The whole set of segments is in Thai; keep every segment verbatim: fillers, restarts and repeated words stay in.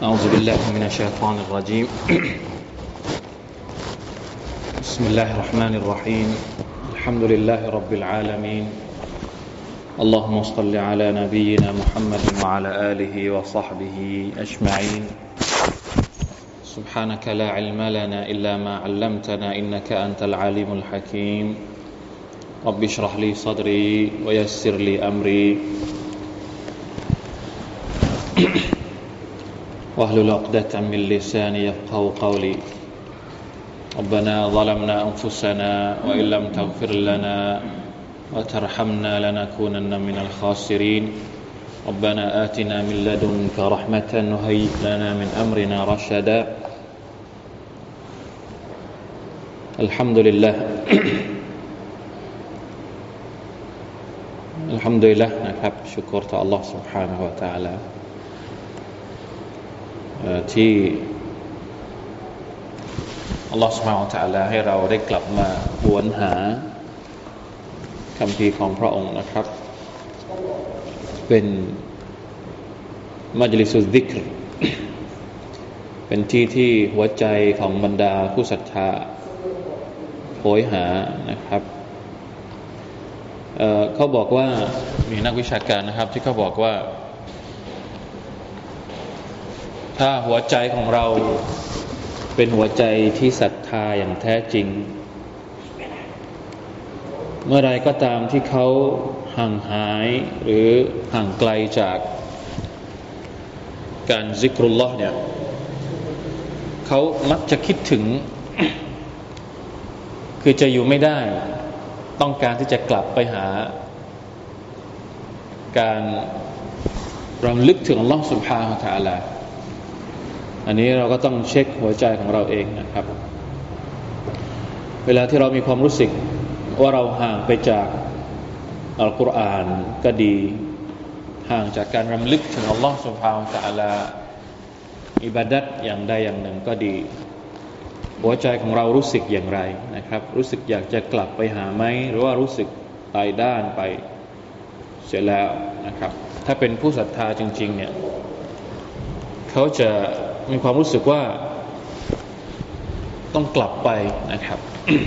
أعوذ بالله من الشيطان الرجيم بسم الله الرحمن الرحيم الحمد لله رب العالمين اللهم صل على نبينا محمد وعلى آله وصحبه أجمعين سبحانك لا علم لنا إلا ما علمتنا إنك أنت العليم الحكيم رب اشرح لي صدري ويسر لي أمري واحلل عقدة من لساني يفقهوا قولي ربنا ظلمنا أنفسنا وإن لم تغفر لنا وترحمنا لنكونن من الخاسرين ربنا آتنا من لدنك رحمة وهيئ لنا من أمرنا رشدا الحمد لله الحمد لله นะครับชุกรต่อ Allah سبحانه และ تعالى ที่ Allah سبحانه และ تعالى ให้เราได้กลับมาหวนหาคำพีร์ของพระองค์นะครับเป็นมัจลิสุซิกรเป็นที่ที่หัวใจของบรรดาผู้ศรัทธาโหยหานะครับ เอ่อ เขาบอกว่ามีนักวิชาการนะครับที่เขาบอกว่าถ้าหัวใจของเราเป็นหัวใจที่ศรัทธาอย่างแท้จริงเมื่อไรก็ตามที่เขาห่างหายหรือห่างไกลจากการซิกรุลลอฮ์เนี่ยเขามักจะคิดถึง คือจะอยู่ไม่ได้ต้องการที่จะกลับไปหาการรำลึกถึงอัลลอฮ์ سبحانه และ تعالى อันนี้เราก็ต้องเช็คหัวใจของเราเองนะครับเวลาที่เรามีความรู้สึกว่าเราห่างไปจากอัลกุรอานก็ดีห่างจากการรำลึกถึงอัลลอฮ์ سبحانه และ تعالى อิบาดัตอย่างใดอย่างหนึ่งก็ดีหัวใจของเรารู้สึกอย่างไรนะครับรู้สึกอยากจะกลับไปหาไหมหรือว่ารู้สึกตายด้านไปเสียแล้วนะครับถ้าเป็นผู้ศรัทธาจริงๆเนี่ยเขาจะมีความรู้สึกว่าต้องกลับไปนะครับ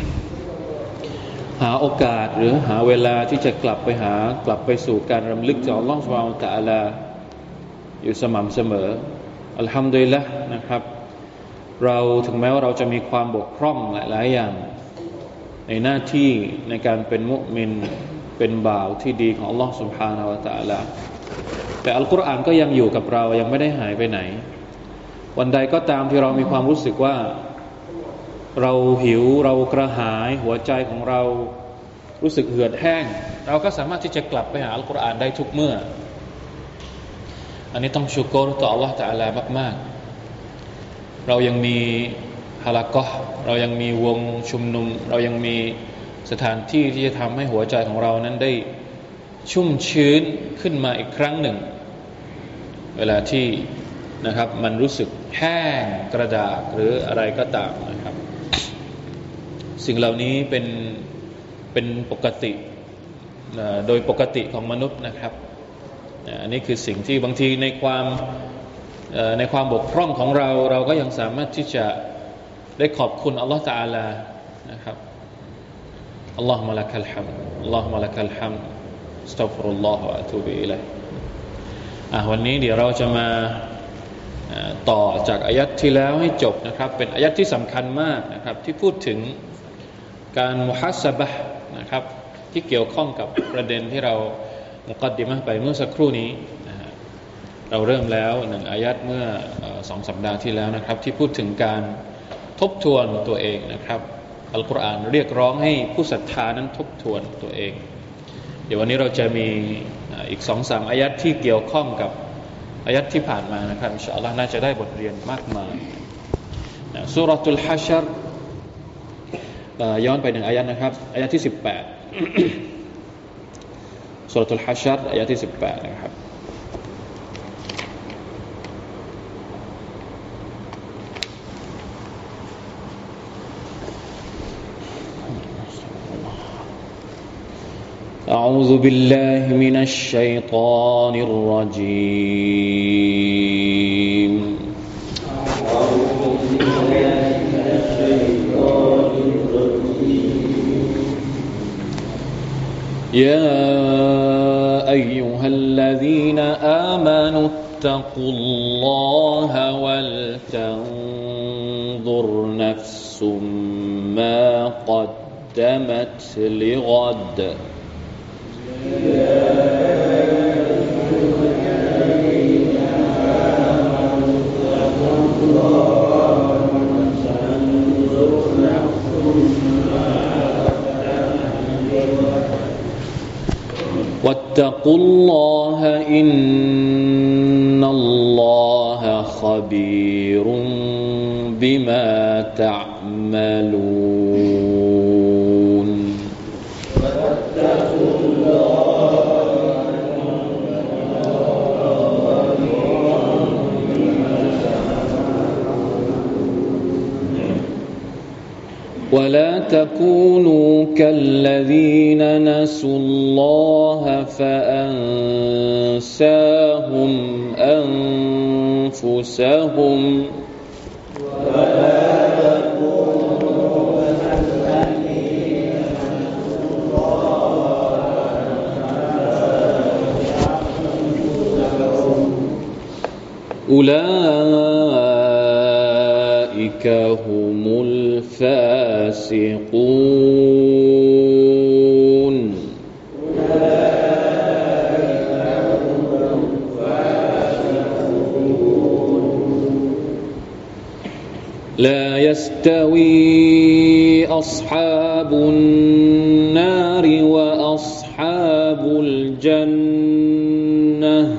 หาโอกาสหรือหาเวลาที่จะกลับไปหากลับไปสู่การรำลึกถึงอัลเลาะห์ซุบฮานะฮูวะตะอาลาอยู่สม่ำเสมออัลฮัมดุลิลละห์นะครับเราถึงแม้ว่าเราจะมีความบกพร่องหลายๆอย่างในหน้าที่ในการเป็นมุมินเป็นบ่าวที่ดีของอัลลอฮฺ سبحانه และ تعالى แต่อัลกุรอานก็ยังอยู่กับเรายังไม่ได้หายไปไหนวันใดก็ตามที่เรามีความรู้สึกว่าเราหิวเรากระหายหัวใจของเรารู้สึกเหือดแห้งเราก็สามารถที่จะกลับไปหาอัลกุรอานได้ทุกเมื่ออันนี้ต้องชุกรต่ออัลลอฮฺ تعالى มากๆเรายังมีฮาละกอฮ์เรายังมีวงชุมนุมเรายังมีสถานที่ที่จะทำให้หัวใจของเรานั้นได้ชุ่มชื้นขึ้นมาอีกครั้งหนึ่งเวลาที่นะครับมันรู้สึกแห้งกระดากหรืออะไรก็ตามนะครับสิ่งเหล่านี้เป็นเป็นปกติโดยปกติของมนุษย์นะครับอันนี้คือสิ่งที่บางทีในความในความบกพร่องของเราเราก็ยังสามารถที่จะได้ขอบคุณอัลลอฮฺ تعالى นะครับอัลลอฮุมะลักัลฮัมด์อัลลอฮุมะลักัลฮัมด์อัสตัฆฟิรุลลอฮ์วะอะตูบิอิลัยฮิอ่ะวันนี้เดี๋ยวเราจะมาต่อจากอายัดที่แล้วให้จบนะครับเป็นอายัดที่สำคัญมากนะครับที่พูดถึงการมุฮัสซะบะห์นะครับที่เกี่ยวข้องกับประเด็นที่เรามุกัดดิมะห์ไปเมื่อสักครู่นี้เราเริ่มแล้วหนึ่งอายัดเมื่อสองสัปดาห์ที่แล้วนะครับที่พูดถึงการทบทวนตัวเองนะครับอัลกุรอานเรียกร้องให้ผู้ศรัทธานั้นทบทวนตัวเองเดี๋ยววันนี้เราจะมีอีก สองถึงสาม อายัดที่เกี่ยวข้องกับอายัดที่ผ่านมานะครับอินชาอัลลอฮ์น่าจะได้บทเรียนมากมายซูเราะตุลฮัชรย้อนไปหนึ่งอายัดนะครับอายัดที่สิบแปดซูเราะตุลฮัชรอายัดที่สิบแปดนะครับأعوذ بالله من الشيطان الرجيم يا أيها الذين آمنوا اتقوا الله ولتنظر نفس ما قدمت لغد واتقوا الله إن الله خبير بما تعملون ولا تكونوا كالذين نسوا الله فأنساهم أنفسهم ولا تكونوا كالذين نسوا الله فأنساهم أولئك هم الفاسقون لا يستوي أصحاب النار وأصحاب الجنة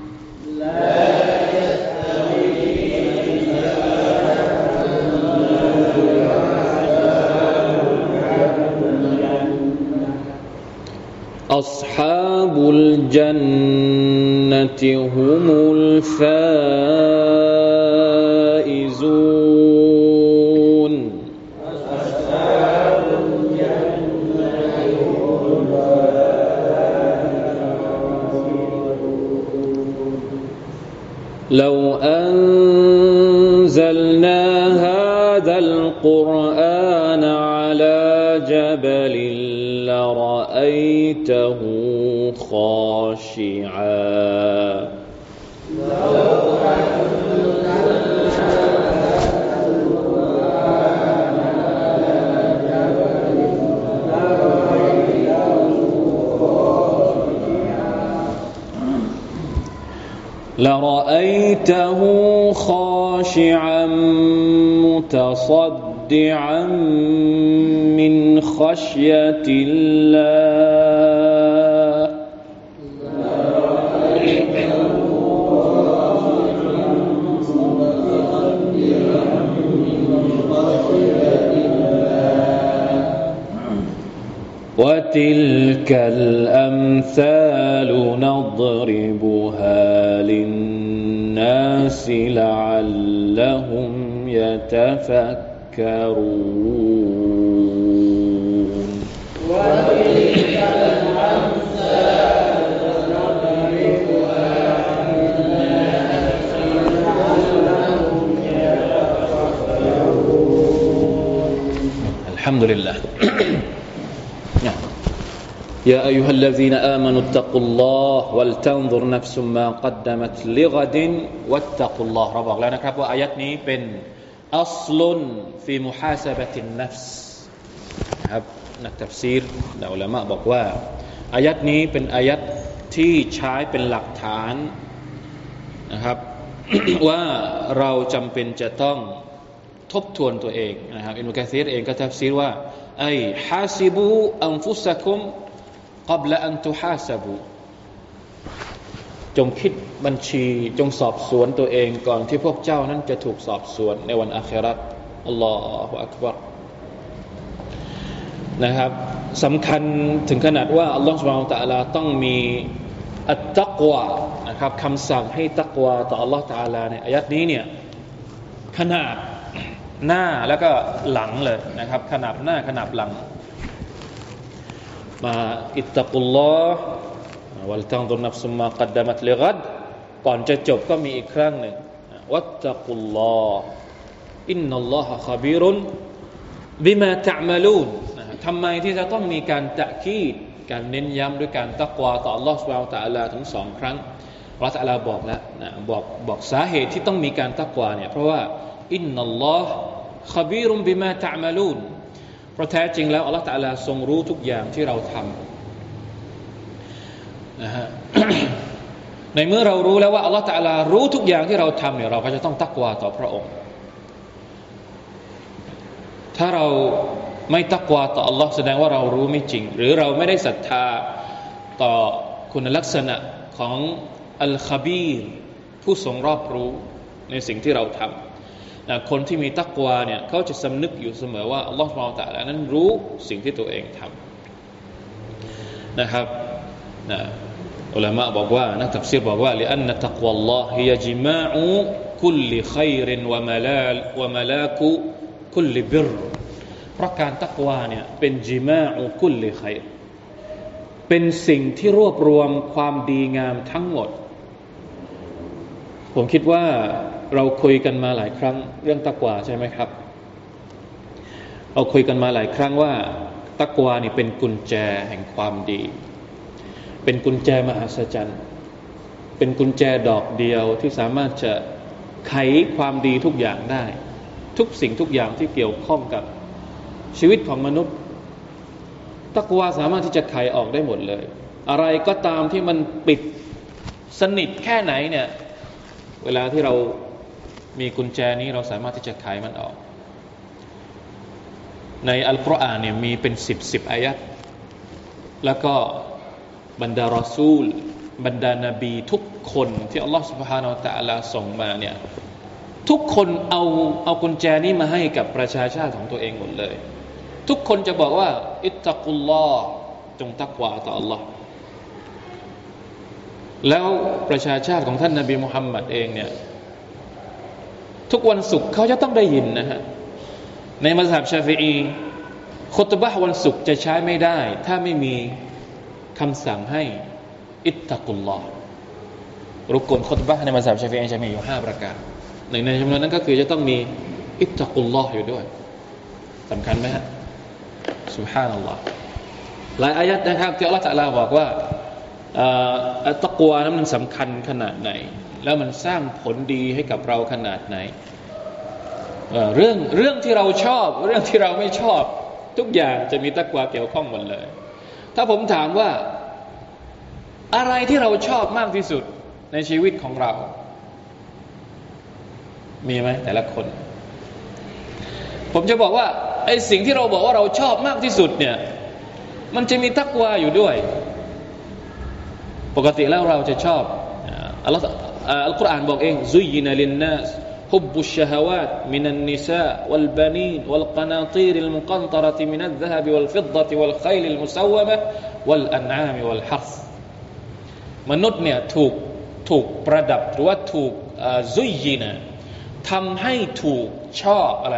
أصحاب الجنة هم الفائزون أصحاب الجنة هم الفائزون لو أنزلنا هذا القرآن على جبل لرأيته خاشعا لرأيته خاشعا متصدعا من خشية الله وتلك الأمثال نضربها للناس لعلهم يتفكرون وتلك الأمثال نضربها للناس لعلهم يتفكرون الحمد لله يا أيها الذين آمنوا اتقوا الله ولتنظر نفس ما قدمت لغد واتقوا اللهเราบอกแล้วนะครับว่าอายะห์นี้เป็นอัศลุนฟีมุฮาซะบะตินนัฟส์ครับนักตัฟซีรและอุลามะบอกว่าอายะห์นี้เป็นอายะห์ที่ใช้เป็นหลักฐานนะครับ ว่าเราจำเป็นจะต้องทบทวนตัวเองนะครับอิบนุกะซีรเองก็ตัฟซีรว่าไอ้ฮาซิบูอันฟุซะกุมقبل أن تحاسبوا จงคิดบัญชีจงสอบสวนตัวเองก่อนที่พวกเจ้านั้นจะถูกสอบสวนในวันอาคิเราะห์อัลลอฮฺอักบัรนะครับสำคัญถึงขนาดว่าอัลลอฮฺซุบฮานะฮูวะตะอาลาต้องมีอัตตักวานะครับคำสั่งให้ตักวาต่ออัลลอฮฺตะอาลาในอายะห์นี้เนี่ยขนาบหน้าแล้วก็หลังเลยนะครับขนาบหน้าขนาบหลังมาอิตตักุลลอฮ์วัลตันซุรนัฟซุมมากัดดะมัตลิกัดก่อนจะจบก็มีอีกครั้งหนึ่งวัตตักุลลอฮ์อินนัลลอฮะคบีรุนบิมาตะอ์มะลูนทำไมที่จะต้องมีการตะคีดการเน้นย้ำด้วยการตักวาต่ออัลลอฮฺซุบฮานะฮูวะตะอาลาถึงสองครั้งอัลลอฮฺตะอาลาบอกแล้วนะบอกบอกสาเหตุที่ต้องมีการตักวาเนี่ยเพราะว่าอินนัลลอฮฺขบีรุมบิมาตะอ์มะลูนเพราะแท้จริงแล้วอัลลอฮฺตะอาลาทรงรู้ทุกอย่างที่เราทำนะฮะ ในเมื่อเรารู้แล้วว่าอัลลอฮฺตะอาลารู้ทุกอย่างที่เราทำเนี่ยเราก็จะต้องตักวาต่อพระองค์ถ้าเราไม่ตักวาต่ออัลลอฮ์แสดงว่าเรารู้ไม่จริงหรือเราไม่ได้ศรัทธาต่อคุณลักษณะของอัลคบีรผู้ทรงรอบรู้ในสิ่งที่เราทำนะคนที่มีตักวาเนี่ยเขาจะสำนึกอยู่เสมอว่าอัลลอฮ์ซุบฮานะฮูวะตะอาลานั้นรู้สิ่งที่ตัวเองทำนะครับนะอุลามะบอกว่านักตัฟซีรบอกว่าลิอันนะตักวะอัลลอฮ์ฮิยะจิมาอุคุลลิค็อยรินวะมะลาวะมะลากุคุลลิบิรเพราะการตักวาเนี่ยเป็นจิมาอุคุลลิค็อยรเป็นสิ่งที่รวบรวมความดีงามทั้งหมดผมคิดว่าเราคุยกันมาหลายครั้งเรื่องตักวาใช่ไหมครับเราคุยกันมาหลายครั้งว่าตักวานี่เป็นกุญแจแห่งความดีเป็นกุญแจมหัศจรรย์เป็นกุญแจดอกเดียวที่สามารถจะไขความดีทุกอย่างได้ทุกสิ่งทุกอย่างที่เกี่ยวข้องกับชีวิตของมนุษย์ตักวาสามารถที่จะไขออกได้หมดเลยอะไรก็ตามที่มันปิดสนิทแค่ไหนเนี่ยเวลาที่เรามีกุญแจนี้เราสามารถที่จะไขมันออกในอัลกุรอานเนี่ยมีเป็นสิบสิบอายะห์แล้วก็บรรดารอซูลบรรดานบีทุกคนที่อัลลอฮฺ سبحانه และ تعالى ส่งมาเนี่ยทุกคนเอาเอากุญแจนี้มาให้กับประชาชาติของตัวเองหมดเลยทุกคนจะบอกว่าอิตตักุลลอฮ์จงตักวาต่ออัลลอฮ์แล้วประชาชาติของท่านนบีมุฮัมมัดเองเนี่ยทุกวันศุกร์เขาจะต้องได้ยินนะฮะในมัซฮับชาฟิอีคุตบะห์วันศุกร์จะใช้ไม่ได้ถ้าไม่มีคำสั่งให้อิตตักุลลอฮ์รุกนคุตบะห์ในมัซฮับชาฟิอีจะมีอยู่ห้าประการหนึ่งในจำนวนนั้นก็คือจะต้องมีอิตตักุลลอฮ์อยู่ด้วยสำคัญไหมฮะซุบฮานัลลอฮ์หลายอายะห์นะครับที่อัลเลาะห์ตะอาลาบอกว่าอัตตักวานั้นมันสำคัญขนาดไหนแล้วมันสร้างผลดีให้กับเราขนาดไหนเรื่องเรื่องที่เราชอบเรื่องที่เราไม่ชอบทุกอย่างจะมีตักวาเกี่ยวข้องหมดเลยถ้าผมถามว่าอะไรที่เราชอบมากที่สุดในชีวิตของเรามีไหมแต่ละคนผมจะบอกว่าไอ้สิ่งที่เราบอกว่าเราชอบมากที่สุดเนี่ยมันจะมีตักวาอยู่ด้วยปกติแล้วเราจะชอบอัลลอฮฺอัลกุรอานบอกเองซุยนะลินนัสฮุบบุชชะฮาวาตมินันนิซาวัลบานีนวัลกะนาตีริลมุกันตะเราะติมินัซซะฮบวัลฟิดดะติวัลค็อยลิลมุซาววะมะวัลอันอามิวัลฮัรษมนุษย์เนี่ยถูกถูกประดับหรือว่าถูกซุยนะทำให้ถูกชอบอะไร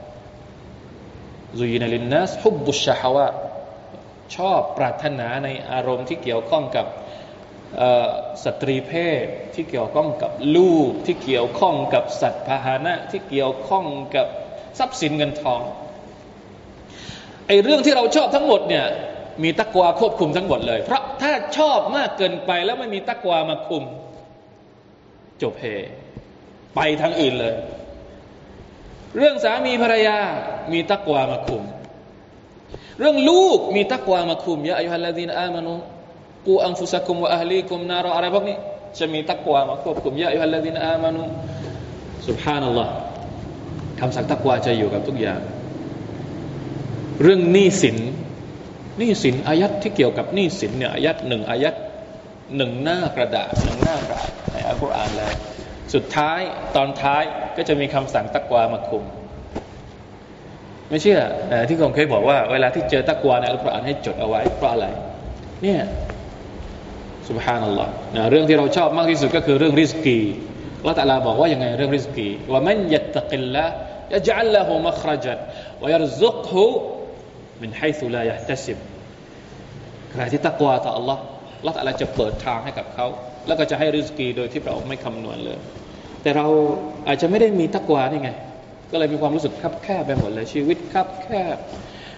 ซุยนะลินนัสฮุบบุชชะฮาวาตชอบปรารถนาในอารมณ์ที่เกี่ยวข้องกับสตรีเพศที่เกี่ยวข้องกับลูกที่เกี่ยวข้องกับสัตว์พาหนะที่เกี่ยวข้องกับทรัพย์สินเงินทองไอ้เรื่องที่เราชอบทั้งหมดเนี่ยมีตักวาควบคุมทั้งหมดเลยเพราะถ้าชอบมากเกินไปแล้วไม่มีตักวามาคุมจบเฮไปทางอื่นเลยเรื่องสามีภรรยามีตักวามาคุมเรื่องลูกมีตักวามาคุมยะอัยยูฮัลลซีนอามานูกูอันฟุซะกุมวะอะห์ลีกุมนารอะไรพวกนี้จะมีตักวามาควบคุมยะอัยยูฮัลลซีนอามานูซุบฮานัลลอฮ์คำสั่งตักวาจะอยู่กับทุกอย่างเรื่องหนี้สินหนี้สินอายัดที่เกี่ยวกับหนี้สินเนี่ยอายัดหนึ่งอายัดหนึ่งหน้ากระดาษหนึ่งหน้ากระดาษในอัลกุรอานเลยสุดท้ายตอนท้ายก็จะมีคำสั่งตักวามาคุมไม่เชื่อที่ผมเคยบอกว่าเวลาที่เจอตักวาในอัลกุรอานให้จดเอาไว้เพราะอะไรเนี่ยซุบฮานัลลอฮ์นะเรื่องที่เราชอบมากที่สุดก็คือเรื่องริสกีอัลเลาะห์ตะอาลาบอกว่ายังไงเรื่องริสกีว่ามันยัตตะกิลลาฮ์ยะญะอัลละฮูมัคเราะญันวะยัรซุกฮุมินไฮซุลายะห์ตัซิบใครที่ตักวาต่ออัลเลาะห์อัลเลาะห์ตะอาลาจะเปิดทางให้กับเขาแล้วก็จะให้ริสกีโดยที่เราไม่คำนวณเลยแต่เราอาจจะไม่ได้มีตักวานี่ไงก็เลยมีความรู้สึกคับแคบไปหมดเลยชีวิตคับแคบ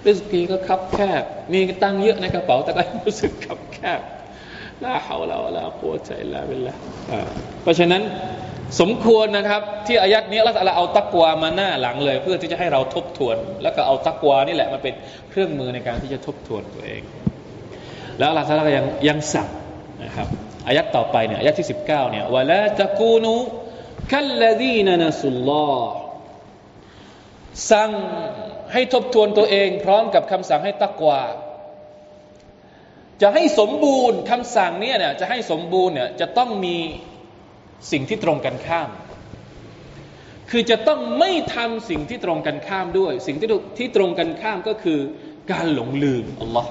ริสกีก็คับแคบมีตังค์เยอะในกระเป๋าแต่ก็รู้สึกคับแคบลาฮาวลาวะลากุวะตะอิลลาบิลลาห์เพราะฉะนั้นสมควรนะครับที่อายัดนี้อัลเลาะห์ตะอาลาเอาตักวามาหน้าหลังเลยเพื่อที่จะให้เราทบทวนแล้วก็เอาตักวานี่แหละมาเป็นเครื่องมือในการที่จะทบทวนตัวเองแล้วอัลเลาะห์ตะอาลาก็ยังยังสั่งนะครับอายัดต่อไปเนี่ยอายัดที่สิบเก้าเนี่ยวะลาตะกูนูคัลลซีนนะซุลลอฮ์สั่งให้ทบทวนตัวเองพร้อมกับคำสั่งให้ตักวาจะให้สมบูรณ์คำสั่งเนี่ยเนี่ยจะให้สมบูรณ์เนี่ยจะต้องมีสิ่งที่ตรงกันข้ามคือจะต้องไม่ทำสิ่งที่ตรงกันข้ามด้วยสิ่งที่ที่ตรงกันข้ามก็คือการหลงลืมอัลลอฮ์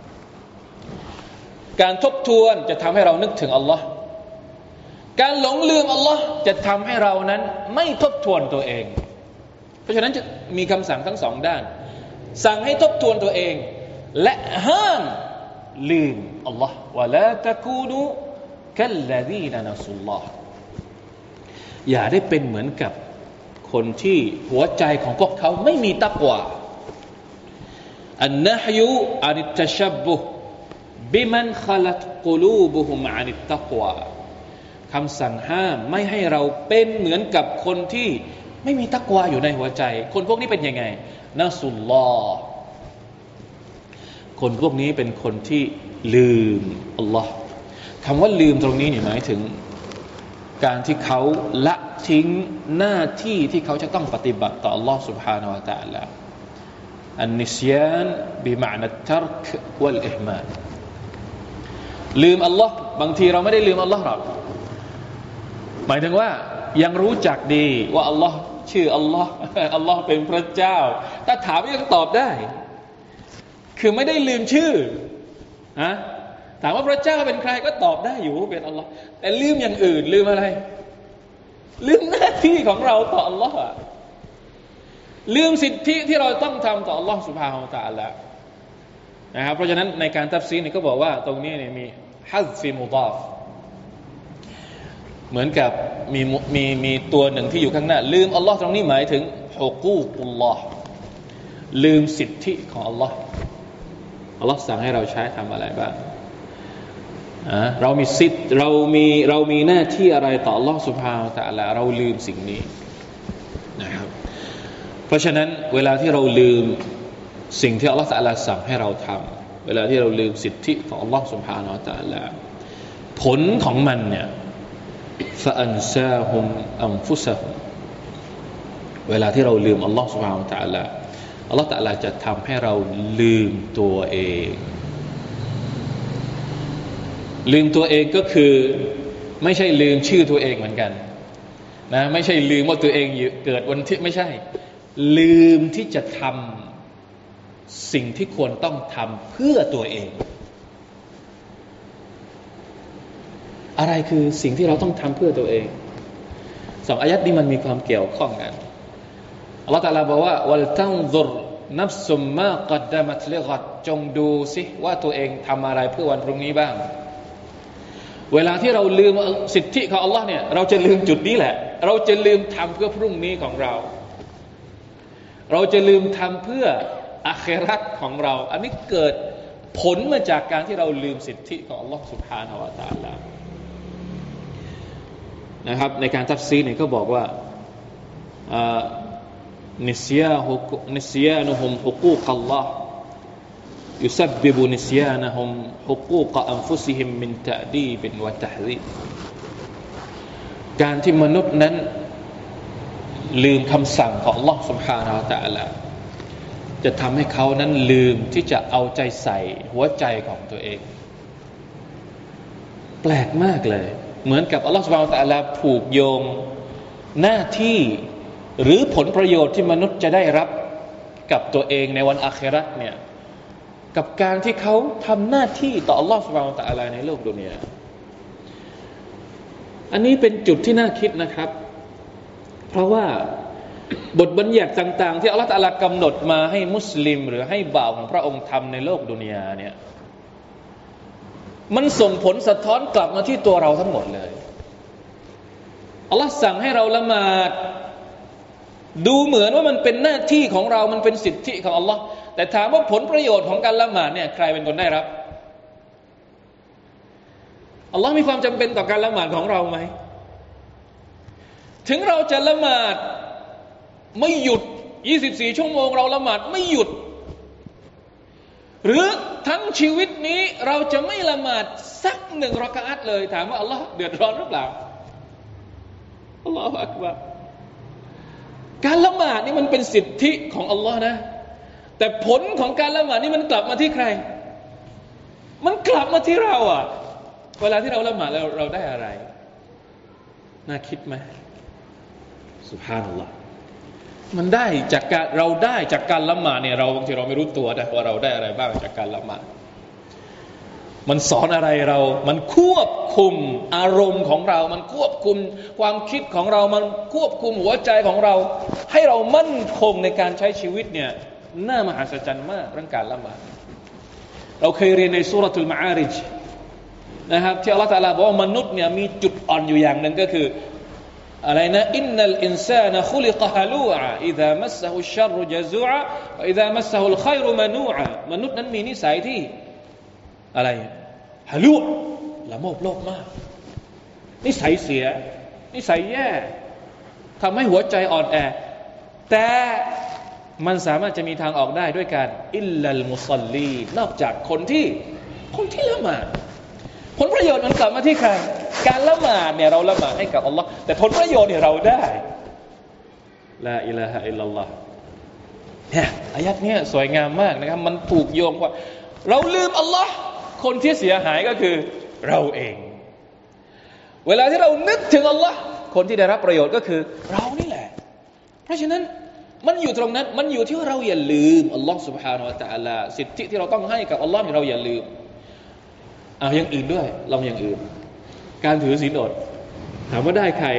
การทบทวนจะทำให้เรานึกถึงอัลลอฮ์การหลงลืมอัลลอฮ์จะทำให้เรานั้นไม่ทบทวนตัวเองเพราะฉะนั้นจะมีคำสั่งทั้งสองด้านสั่งให้ทบทวนตัวเองและห้ามลืมอัลลอฮ์วะลาตะกูนูกัลลซีนนะซุลลอฮ์อย่าได้เป็นเหมือนกับคนที่หัวใจของพวกเขาไม่มีตักวาอันนะฮยุอานิตตะชับบุฮ์บิมันขลัตกุลูบุฮุมอานิตตักวาคำสั่งห้ามไม่ให้เราเป็นเหมือนกับคนที่ไม่มีตักวาอยู่ในหัวใจคนพวกนี้เป็นยังไงนะซุลลอฮ์คนพวกนี้เป็นคนที่ลืมอัลลอฮ์คำว่าลืมตรงนี้เนี่ยหมายถึงการที่เขาละทิ้งหน้าที่ที่เขาจะต้องปฏิบัติต่ออัลลอฮ์ سبحانه และ تعالى อันนิสยานบิมะนะตัรกวัลอิห์มาลลืมอัลลอฮ์บางทีเราไม่ได้ลืมอัลลอฮ์หรอกหมายถึงว่ายังรู้จักดีว่าอัลลอฮ์ชื่ออัลลอฮ์อัลลอฮ์เป็นพระเจ้าถ้าถามยังตอบได้คือไม่ได้ลืมชื่อฮะถามว่าพระเจ้าเป็นใครก็ตอบได้อยู่เป็นอัลลอฮ์แต่ลืมอย่างอื่นลืมอะไรลืมหน้าที่ของเราต่ออัลลอฮ์ลืมสิทธิที่เราต้องทำต่ออัลลอฮ์ซุบฮานะฮูวะตะอาลานะครับเพราะฉะนั้นในการตัฟซีรนี่ก็บอกว่าตรงนี้เนี่ยมีฮัซฟิมุฎอฟเหมือนกับมีมีมีตัวหนึ่งที่อยู่ข้างหน้าลืมอัลลอฮ์ตรงนี้หมายถึงฮุกูกุลลอฮ์ลืมสิทธิของอัลลอฮ์อัลลอฮ์สั่งให้เราใช้ทำอะไรบ้างเรามีสิทธิ์เรามีเรามีหน้าที่อะไรต่ออัลลอฮ์ سبحانه และ تعالى เราลืมสิ่งนี้นะครับเพราะฉะนั้นเวลาที่เราลืมสิ่งที่อัลลอฮ์ تعالى สั่งให้เราทำเวลาที่เราลืมสิทธิของอัลลอฮ์ سبحانه และ تعالى ผลของมันเนี่ย فأنساهم أنفسهم เวลาที่เราลืมอัลลอฮ์ سبحانه และ تعالى อัลลอฮ์ تعالى จะทำให้เราลืมตัวเองลืมตัวเองก็คือไม่ใช่ลืมชื่อตัวเองเหมือนกันนะไม่ใช่ลืมว่าตัวเองเกิดวันที่ไม่ใช่ลืมที่จะทำสิ่งที่ควรต้องทำเพื่อตัวเองอะไรคือสิ่งที่เราต้องทำเพื่อตัวเองสองอายัดนี้มันมีความเกี่ยวข้องกันอัลลอฮฺตะอาลาบอกว่าวัลตันซุรนัฟซุมมากัดดะมัตลิกัดจงดูสิว่าตัวเองทำอะไรเพื่อวันพรุ่งนี้บ้างเวลาที่เราลืมสิทธิของอัลลอฮ์เนี่ยเราจะลืมจุดนี้แหละเราจะลืมทำเพื่อพรุ่งนี้ของเราเราจะลืมทำเพื่ออาคิเราะห์ของเราอันนี้เกิดผลมาจากการที่เราลืมสิทธิของอัลลอฮ์ سبحانه และ تعالى นะครับในการตัฟซีรเนี่ยก็บอกว่านิสยาฮุนิสยานุฮุมฮุกูกัลลอฮ์يسبب نسيانهم حقوق أنفسهم من تأديب وتحذير การที่มนุษย์นั้นลืมคำสั่งของ Allah سبحانه และ تعالى จะทำให้เขานั้นลืมที่จะเอาใจใส่หัวใจของตัวเองแปลกมากเลยเหมือนกับ Allah سبحانه และ تعالى ผูกโยงหน้าที่หรือผลประโยชน์ที่มนุษย์จะได้รับกับตัวเองในวันอาคิเราะห์เนี่ยกับการที่เขาทำหน้าที่ต่อ Allah سبحانه และ تعالى ในโลกดุนยาอันนี้เป็นจุดที่น่าคิดนะครับเพราะว่าบทบัญญัติต่างๆที่ Allah تعالى กำหนดมาให้มุสลิมหรือให้บ่าวของพระองค์ทำในโลกดุนยาเนี่ยมันส่งผลสะท้อนกลับมาที่ตัวเราทั้งหมดเลย Allah สั่งให้เราละหมาดดูเหมือนว่ามันเป็นหน้าที่ของเรามันเป็นสิทธิของ Allah แต่ถามว่าผลประโยชน์ของการละหมาดเนี่ยใครเป็นคนได้รับอัลลอฮ์มีความจำเป็นต่อการละหมาดของเราไหมถึงเราจะละหมาดไม่หยุดยี่สิบสี่ชั่วโมงเราละหมาดไม่หยุดหรือทั้งชีวิตนี้เราจะไม่ละหมาดสักหนึ่งรอกะอัตเลยถามว่าอัลลอฮ์เดือดร้อนหรือเปล่าอัลลอฮฺอักบัรการละหมาดนี่มันเป็นสิทธิของอัลลอฮ์นะแต่ผลของการละหมาดนี่มันกลับมาที่ใครมันกลับมาที่เราอ่ะเวลาที่เราละหมาดแล้วเราได้อะไรน่าคิดไหมซุบฮานัลลอฮ์มันได้จากการเราได้จากการละหมาดเนี่ยเราบางทีเราไม่รู้ตัวนะว่าเราได้อะไรบ้างจากการละหมาดมันสอนอะไรเรามันควบคุมอารมณ์ของเรามันควบคุมความคิดของเรามันควบคุมหัวใจของเราให้เรามั่นคงในการใช้ชีวิตเนี่ยน่ามหัศจรรย์มากเรื่องการละหมาดเราเคยเรียนในซูเราะตุลมะอาริจนะครับที่อัลเลาะห์ตะอาลาบอกว่ามนุษย์เนี่ยมีจุดอ่อนอยู่อย่างนึงก็คืออะไรนะอินนัลอินซานะคุลิกะฮะลูอะอิซามัสซะฮุชชัรรุญะซูอะวะอิซามัสซะฮุลค็อยรุมะนูอะมนุษย์นั้นมีนิสัยที่อะไรฮะลูละโมบโลภมากนิสัยเสียนิสัยแย่ทำให้หัวใจอ่อนแอแต่มันสามารถจะมีทางออกได้ด้วยการอิลลัลมุศอลลีนอกจากคนที่คนที่ละหมาดผลประโยชน์มันกลับมาที่ใครการละหมาดเนี่ยเราละหมาดให้กับอัลลอฮ์แต่ผลประโยชน์เนี่ยเราได้ลาอิลาฮะอิลลัลลอฮ์เนี่ยอายัดเนี่ยสวยงามมากนะครับมันถูกโยงว่าเราลืมอัลลอฮ์คนที่เสียหายก็คือเราเองเวลาที่เรานึกถึงอัลลอฮ์คนที่ได้รับประโยชน์ก็คือเรานี่แหละเพราะฉะนั้นมันอยู่ตรงนั้นมันอยู่ที่ว่าเราอย่าลืมอัลลอฮ์ سبحانه และ تعالى สิทธิที่เราต้องให้กับอัลลอฮ์นี่เราอย่าลืมเอาอย่างอื่นด้วยลองอย่างอื่นการถือศีลอดถามว่าได้ใคร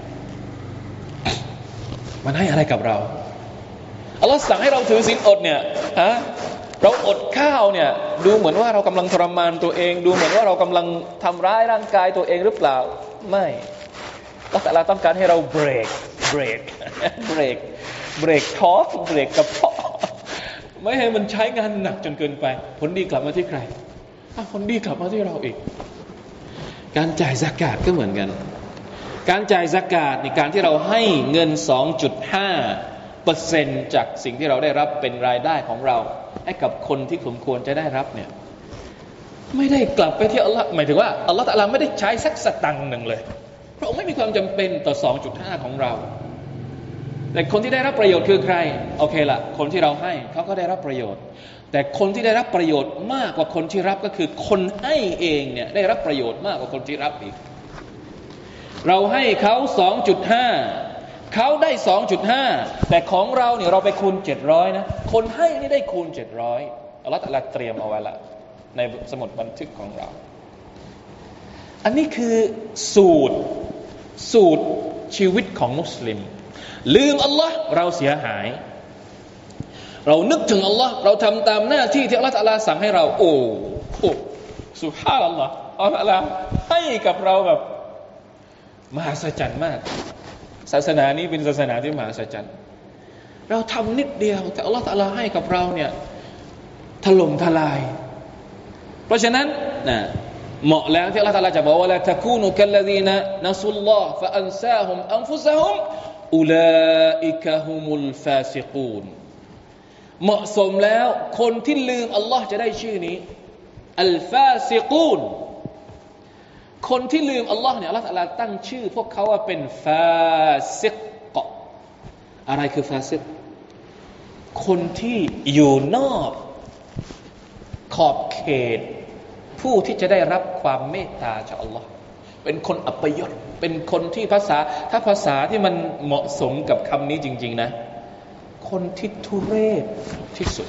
มันให้อะไรกับเราอัลลอฮ์สั่งให้เราถือศีลอดเนี่ยฮะเราอดข้าวเนี่ยดูเหมือนว่าเรากำลังทรมานตัวเองดูเหมือนว่าเรากำลังทำร้ายร่างกายตัวเองหรือเปล่าไม่อัลลอฮ์ตะอาลาต้องการให้เราเบรกเบรกเบรกเบรกท้องเบรกกระเพาะไม่ให้มันใช้งานหนักจนเกินไปผลดีกลับมาที่ใครผลดีกลับมาที่เราอีกการจ่ายซะกาตก็เหมือนกันการจ่ายซะกาตในการที่เราให้เงิน สองจุดห้าเปอร์เซ็นต์ จากสิ่งที่เราได้รับเป็นรายได้ของเราให้กับคนที่สมควรจะได้รับเนี่ยไม่ได้กลับไปที่อัลลอฮ์หมายถึงว่าอัลลอฮ์ตะอาลาไม่ได้ใช้สักสตังค์หนึ่งเลยเพราะไม่มีความจำเป็นต่อ สองจุดห้า ของเราแต่คนที่ได้รับประโยชน์คือใครโอเคละคนที่เราให้เขาก็ได้รับประโยชน์แต่คนที่ได้รับประโยชน์มากกว่าคนที่รับก็คือคนให้เองเนี่ยได้รับประโยชน์มากกว่าคนที่รับอีกเราให้เขา สองจุดห้า เขาได้ สองจุดห้า แต่ของเราเนี่ยเราไปคูณเจ็ดร้อยนะคนให้นี่ได้คูณเจ็ดร้อยอัลเลาะห์ตะอาลาเตรียมเอาไว้ละในสมุดบันทึกของเราอันนี้คือสูตรสูตรชีวิตของมุสลิมลืมอัลลอฮ์เราเสียหายเรานึกถึงอัลลอฮ์เราทำตามหน้าที่ที่อัลลอฮ์ตะอาลาสั่งให้เราโอ้โหซุบฮานัลลอฮ์อัลลอฮ์ตะอาลาให้กับเราแบบมหัศจรรย์มากศาสนานี้เป็นศาสนาที่มหัศจรรย์เราทำนิดเดียวแต่อัลลอฮ์ตะอาลาให้กับเราเนี่ยถล่มทลายเพราะฉะนั้นนะเหมาะแล้วที่อัลลอฮ์ตะอาลาจะบอกว่าละตะกูนุกัลลซีนะนัสุลลอฮ์ฟะอันซาฮุมอันฟุซะฮุมอุลาอิกะฮุมุลฟาซิกูนเหมาะสมแล้วคนที่ลืมอัลลอฮ์จะได้ชื่อนี้อัลฟาซิกูนคนที่ลืมอัลลอฮ์เนี่ยอัลลอฮ์ตะอาลาตั้งชื่อพวกเขาว่าเป็นฟาซิกอะไรคือฟาซิกคนที่อยู่นอกขอบเขตผู้ที่จะได้รับความเมตตาจากอัลลอฮ์เป็นคนอัปยศเป็นคนที่ภาษาถ้าภาษาที่มันเหมาะสมกับคำนี้จริงๆนะคนที่ทุเรศที่สุด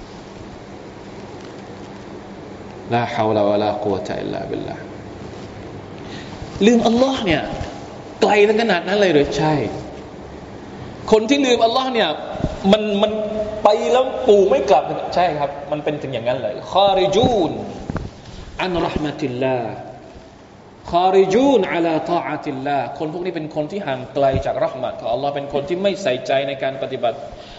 ลาฮาวลาวะลากุวะตะอิลลาบิลลาห์ลืมอัลลอฮ์เนี่ยไกลถึงขนาดนั้นเลยหรือใช่คนที่ลืมอัลลอฮ์เนี่ยมันมันไปแล้วปู่ไม่กลับใช่ครับมันเป็นถึงอย่างนั้นเลยคอริจูนอันเราะห์มะติลลาห์คอริจูนอะลาฏออะติลลาห์คนพวกนี้เป็นคนที่ห่างไกลจากเราะห์มะตของอัลลอฮ์เป็นคนที่ไม่ใส่ใจในการปฏิบัติ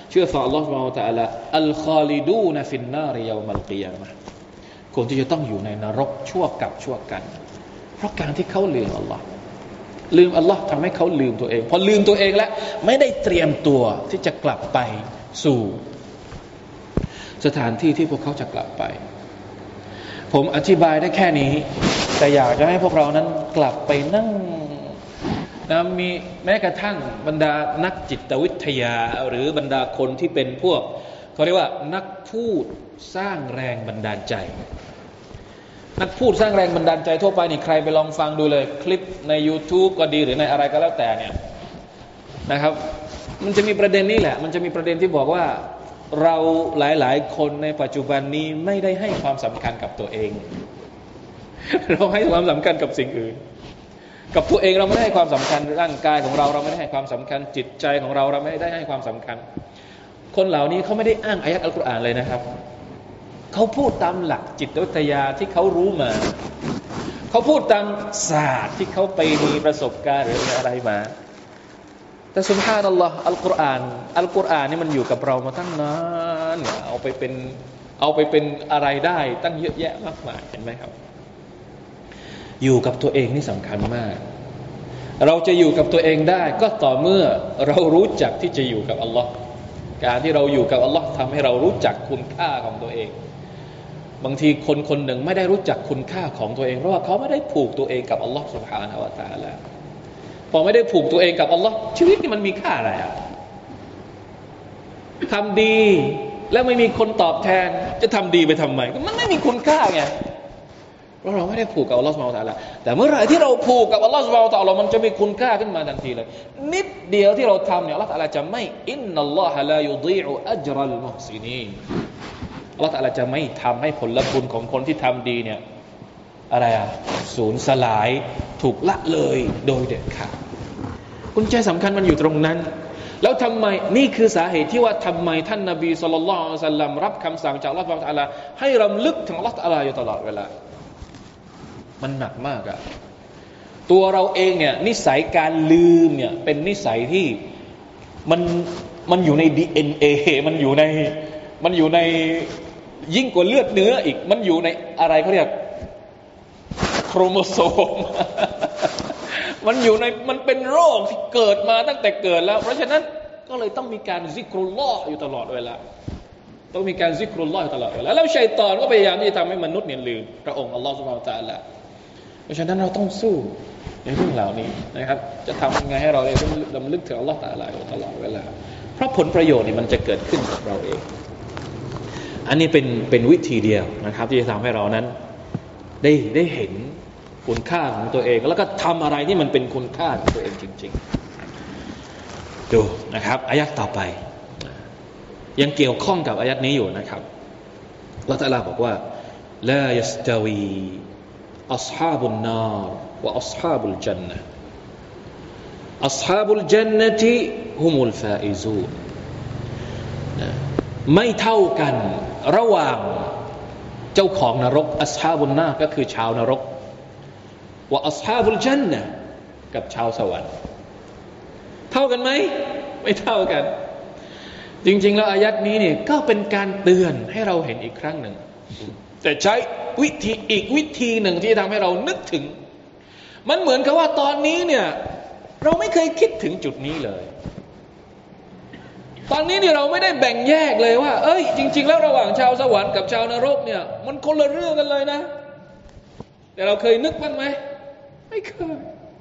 เชื่อต่ออัลลอฮฺซุบฮานะฮูวะตะอาลาอัลคอลิดูนฟินนาริยามัลกิยามะห์คนที่จะต้องอยู่ในนรกชั่วกับชั่วกันเพราะการที่เขาลืมอัลลอฮ์ลืมอัลลอฮ์ทำให้เขาลืมตัวเองพอลืมตัวเองแล้วไม่ได้เตรียมตัวที่จะกลับไปสู่สถานที่ที่พวกเขาจะกลับไปผมอธิบายได้แค่นี้แต่อยากจะให้พวกเรานั้นกลับไปนั่งนะมีแม้กระทั่งบรรดานักจิตวิทยาหรือบรรดาคนที่เป็นพวกเขาเรียกว่านักพูดสร้างแรงบันดาลใจนักพูดสร้างแรงบันดาลใจทั่วไปนี่ใครไปลองฟังดูเลยคลิปใน YouTube ก็ดีหรือในอะไรก็แล้วแต่เนี่ยนะครับมันจะมีประเด็นนี้แหละมันจะมีประเด็นที่บอกว่าเราหลายๆคนในปัจจุบันนี้ไม่ได้ให้ความสำคัญกับตัวเองเราให้ความสำคัญกับสิ่งอื่นกับตัวเองเราไม่ได้ให้ความสำคัญร่างกายของเราเราไม่ได้ให้ความสำคัญจิตใจของเราเราไม่ได้ให้ความสำคัญคนเหล่านี้เขาไม่ได้อ้างอายะห์อัลกุรอานเลยนะครับเขาพูดตามหลักจิตวิทยาที่เขารู้มาเขาพูดตามศาสตร์ที่เขาไปมีประสบการณ์หรืออะไรมาแต่ซุบฮานัลลอฮ์อัลกุรอานอัลกุรอานนี่มันอยู่กับเรามาตั้งนานเอาไปเป็นเอาไปเป็นอะไรได้ตั้งเยอะแยะมากมายเห็นไหมครับอยู่กับตัวเองนี่สำคัญมากเราจะอยู่กับตัวเองได้ก็ต่อเมื่อเรารู้จักที่จะอยู่กับอัลลอฮ์การที่เราอยู่กับอัลลอฮ์ทำให้เรารู้จักคุณค่าของตัวเองบางทีคนคนหนึ่งไม่ได้รู้จักคุณค่าของตัวเองเพราะว่าเขาไม่ได้ผูกตัวเองกับอัลลอฮ์ซุบฮานะฮูวะตะอาลาพอไม่ได้ผูกตัวเองกับอัลลอฮ์ชีวิตนี่มันมีค่าอะไรอ่ะทำดีแล้วไม่มีคนตอบแทนจะทำดีไปทำไมมันไม่มีคุณค่าไงเพราะเราไม่ได้ผูกกับอัลลอฮ์ซุบฮานะฮูวะตะอาลาแต่เมื่อไหร่ที่เราผูกกับอัลลอฮ์ซุบฮานะฮูวะตะอาลามันจะมีคุณค่าขึ้นมาทันทีเลยนิดเดียวที่เราทำเนี่ยอัลลอฮ์ตะอาลาจะไม่อินนัลลอฮะลายุฎีอุอัจรัลมุฮซินีนอัลลอฮ์ตะอาลาจะไม่ทำให้ผลบุญของคนที่ทำดีเนี่ยอะไรอ่ะสูญสลายถูกละเลยโดยเด็ดขาดกุญแจสำคัญมันอยู่ตรงนั้นแล้วทำไมนี่คือสาเหตุที่ว่าทำไมท่านนบีศ็อลลัลลอฮุอะลัยฮิวะซัลลัมรับคำสั่งจากอัลลอฮฺซุบฮานะฮูวะตะอาลาให้รำลึกถึงอัลลอฮฺตะอาลาอยู่ตลอดเวลามันหนักมากอะตัวเราเองเนี่ยนิสัยการลืมเนี่ยเป็นนิสัยที่มันมันอยู่ใน ดี เอ็น เอ มันอยู่ในมันอยู่ในยิ่งกว่าเลือดเนื้ออีกมันอยู่ในอะไรเขาเรียกโครโมโซม มันอยู่ในมันเป็นโรคที่เกิดมาตั้งแต่เกิดแล้วเพราะฉะนั้นก็เลยต้องมีการซิกรุลลอฮ์อยู่ตลอดเวลาต้องมีการซิกรุลลอฮ์อยู่ตลอดเวลาแล้วชัยฏอนก็พยายามที่จะทำให้มนุษย์เนี่ยลืมพระองค์อัลลอฮฺซุบฮานะฮูวะตะอาลาเพราะฉะนั้นเราต้องสู้ในเรื่องเหล่านี้นะครับจะทำยังไงให้เราได้รำลึกถึงอัลลอฮฺตะอาลาอยู่ตลอดเวลาเพราะผลประโยชน์นี่มันจะเกิดขึ้นกับเราเองอันนี้เป็นเป็นวิธีเดียวนะครับที่จะทำให้เรานั้นได้ได้เห็นคุณค่าของตัวเองแล้วก็ทำอะไรที่มันเป็นคุณค่าของตัวเองจริงๆดูนะครับอายะห์ต่อไปยังเกี่ยวข้องกับอายะห์นี้อยู่นะครับอัลเลาะห์ตะอาลาบอกว่าลายัสตาวีอัศฮาบุนนารวะอัศฮาบุลญันนะห์อัศฮาบุลญันนะติฮุมุลฟาอิซูนไม่เท่ากันระหว่างเจ้าของนรกอัศฮาบุนนารก็คือชาวนรกว่าอัศฮาบุลญันนะห์กับชาวสวรรค์เท่ากันไหมไม่เท่ากันจริงๆแล้วอายัดนี้เนี่ยก็เป็นการเตือนให้เราเห็นอีกครั้งหนึ่งแต่ใช้วิธีอีกวิธีหนึ่งที่ทำให้เรานึกถึงมันเหมือนกับว่าตอนนี้เนี่ยเราไม่เคยคิดถึงจุดนี้เลยตอนนี้เนี่ยเราไม่ได้แบ่งแยกเลยว่าเอ้ยจริงๆแล้วระหว่างชาวสวรรค์กับชาวนรกเนี่ยมันคนละเรื่องกันเลยนะแต่เราเคยนึกบ้างไหมไม่เคย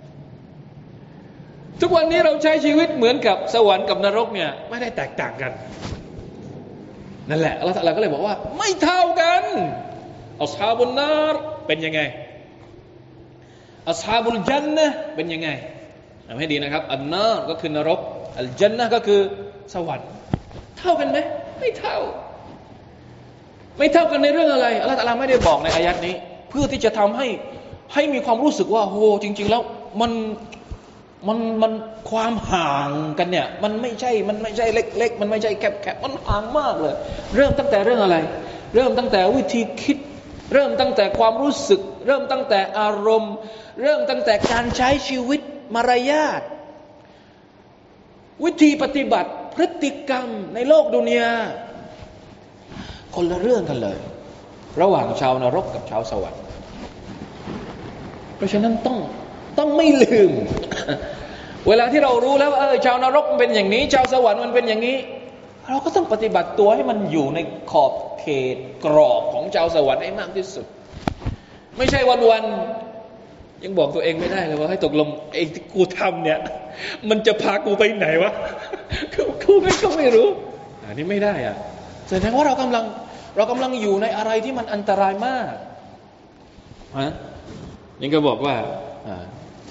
ทุกวันนี้เราใช้ชีวิตเหมือนกับสวรรค์กับนรกเนี่ยไม่ได้แตกต่างกันนั่นแหละอัลเลาะห์ตะอาลาก็เลยบอกว่าไม่เท่ากันอัศฮาบุนนารเป็นยังไงอัศฮาบุลญันนะห์เป็นยังไงจำให้ดีนะครับอันนารก็คือนรกอัลญันนะห์ก็คือสวรรค์เท่ากันไหมไม่เท่าไม่เท่ากันในเรื่องอะไรอัลเลาะห์ตะอาลาไม่ได้บอกในอายัดนี้เพื่อที่จะทำให้ให้มีความรู้สึกว่าโหจริงๆแล้วมันมันมันความห่างกันเนี่ยมันไม่ใช่มันไม่ใช่เล็กๆมันไม่ใช่แคบๆมันห่างมากเลยเริ่มตั้งแต่เรื่องอะไรเริ่มตั้งแต่วิธีคิดเริ่มตั้งแต่ความรู้สึกเริ่มตั้งแต่อารมณ์เริ่มตั้งแต่การใช้ชีวิตมารยาทวิธีปฏิบัติพฤติกรรมในโลกดุนยาคนละเรื่องกันเลยระหว่างชาวนรกกับชาวสวรรค์เพราะฉะนั้นต้องต้องไม่ลืม เวลาที่เรารู้แล้วว่าเออชาวนรกมันเป็นอย่างนี้ชาวสวรรค์มันเป็นอย่างนี้เราก็ต้องปฏิบัติตัวให้มันอยู่ในขอบเขตกรอบของชาวสวรรค์ให้มากที่สุดไม่ใช่วันๆยังบอกตัวเองไม่ได้เลยว่าให้ตกลงไอ้ที่กูทำเนี่ยมันจะพากูไปไหนวะ กูไม่ก็ไม่รู้อันนี้ไม่ได้อ่ะแสดงว่าเรากำลังเรากำลังอยู่ในอะไรที่มันอันตรายมากฮะนี่ก็บอกว่าอ่า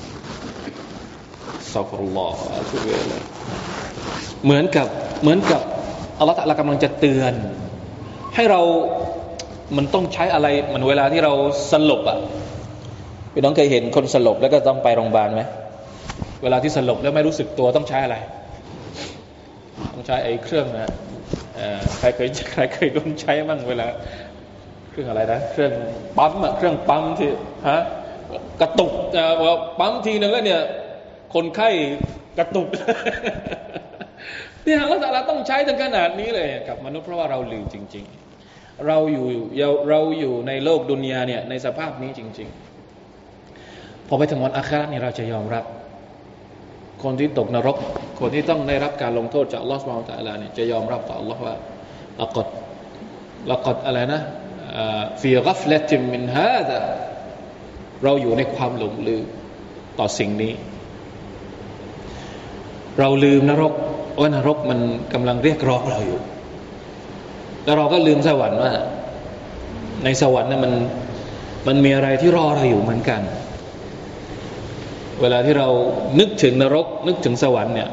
อัสตัฆฟิรุลลอฮ์อะตูบิอิลัยฮิเหมือนกับเหมือนกับอัลเลาะห์ตะอาลากำลังจะเตือนให้เรามันต้องใช้อะไรมันเวลาที่เราสลบอ่ะพี่น้องเคยเห็นคนสลบแล้วก็ต้องไปโรงพยาบาลไหมเวลาที่สลบแล้วไม่รู้สึกตัวต้องใช้อะไรต้องใช้ไอ้เครื่องนะใครเคยใครเคยโดนใช้บ้างเวลาเครื่องอะไรนะเครื่องปั๊มอะเครื่องปั๊มที่ฮะกระตุกปั๊มทีนึงแล้วเนี่ยคนไข้กระตุกเนี่ยเราแต่ละต้องใช้ถึงขนาดนี้เลยกับมนุษย์เพราะว่าเราลืมจริงๆเราอยู่เราอยู่ในโลกดุนยาเนี่ยในสภาพนี้จริงๆพอไปถึงวันอาคิเราะห์นี่เราจะยอมรับคนที่ตกนรกคนที่ต้องได้รับการลงโทษจากอัลเลาะห์ซุบฮานะฮูวะตะอาลาเนี่ยจะยอมรับต่ออัลเลาะห์ว่าละกัดละกัดอะไรนะฟีกัฟละติมินฮาซาเราอยู่ในความหลงลืมต่อสิ่งนี้เราลืมนรกว่านรกมันกำลังเรียกร้องเราอยู่แล้วเราก็ลืมสวรรค์ว่าในสวรรค์นั้นมันมันมีอะไรที่รอเราอยู่เหมือนกันเวลาที่เรานึกถึงนรกนึกถึงสวรรค์เนี่ย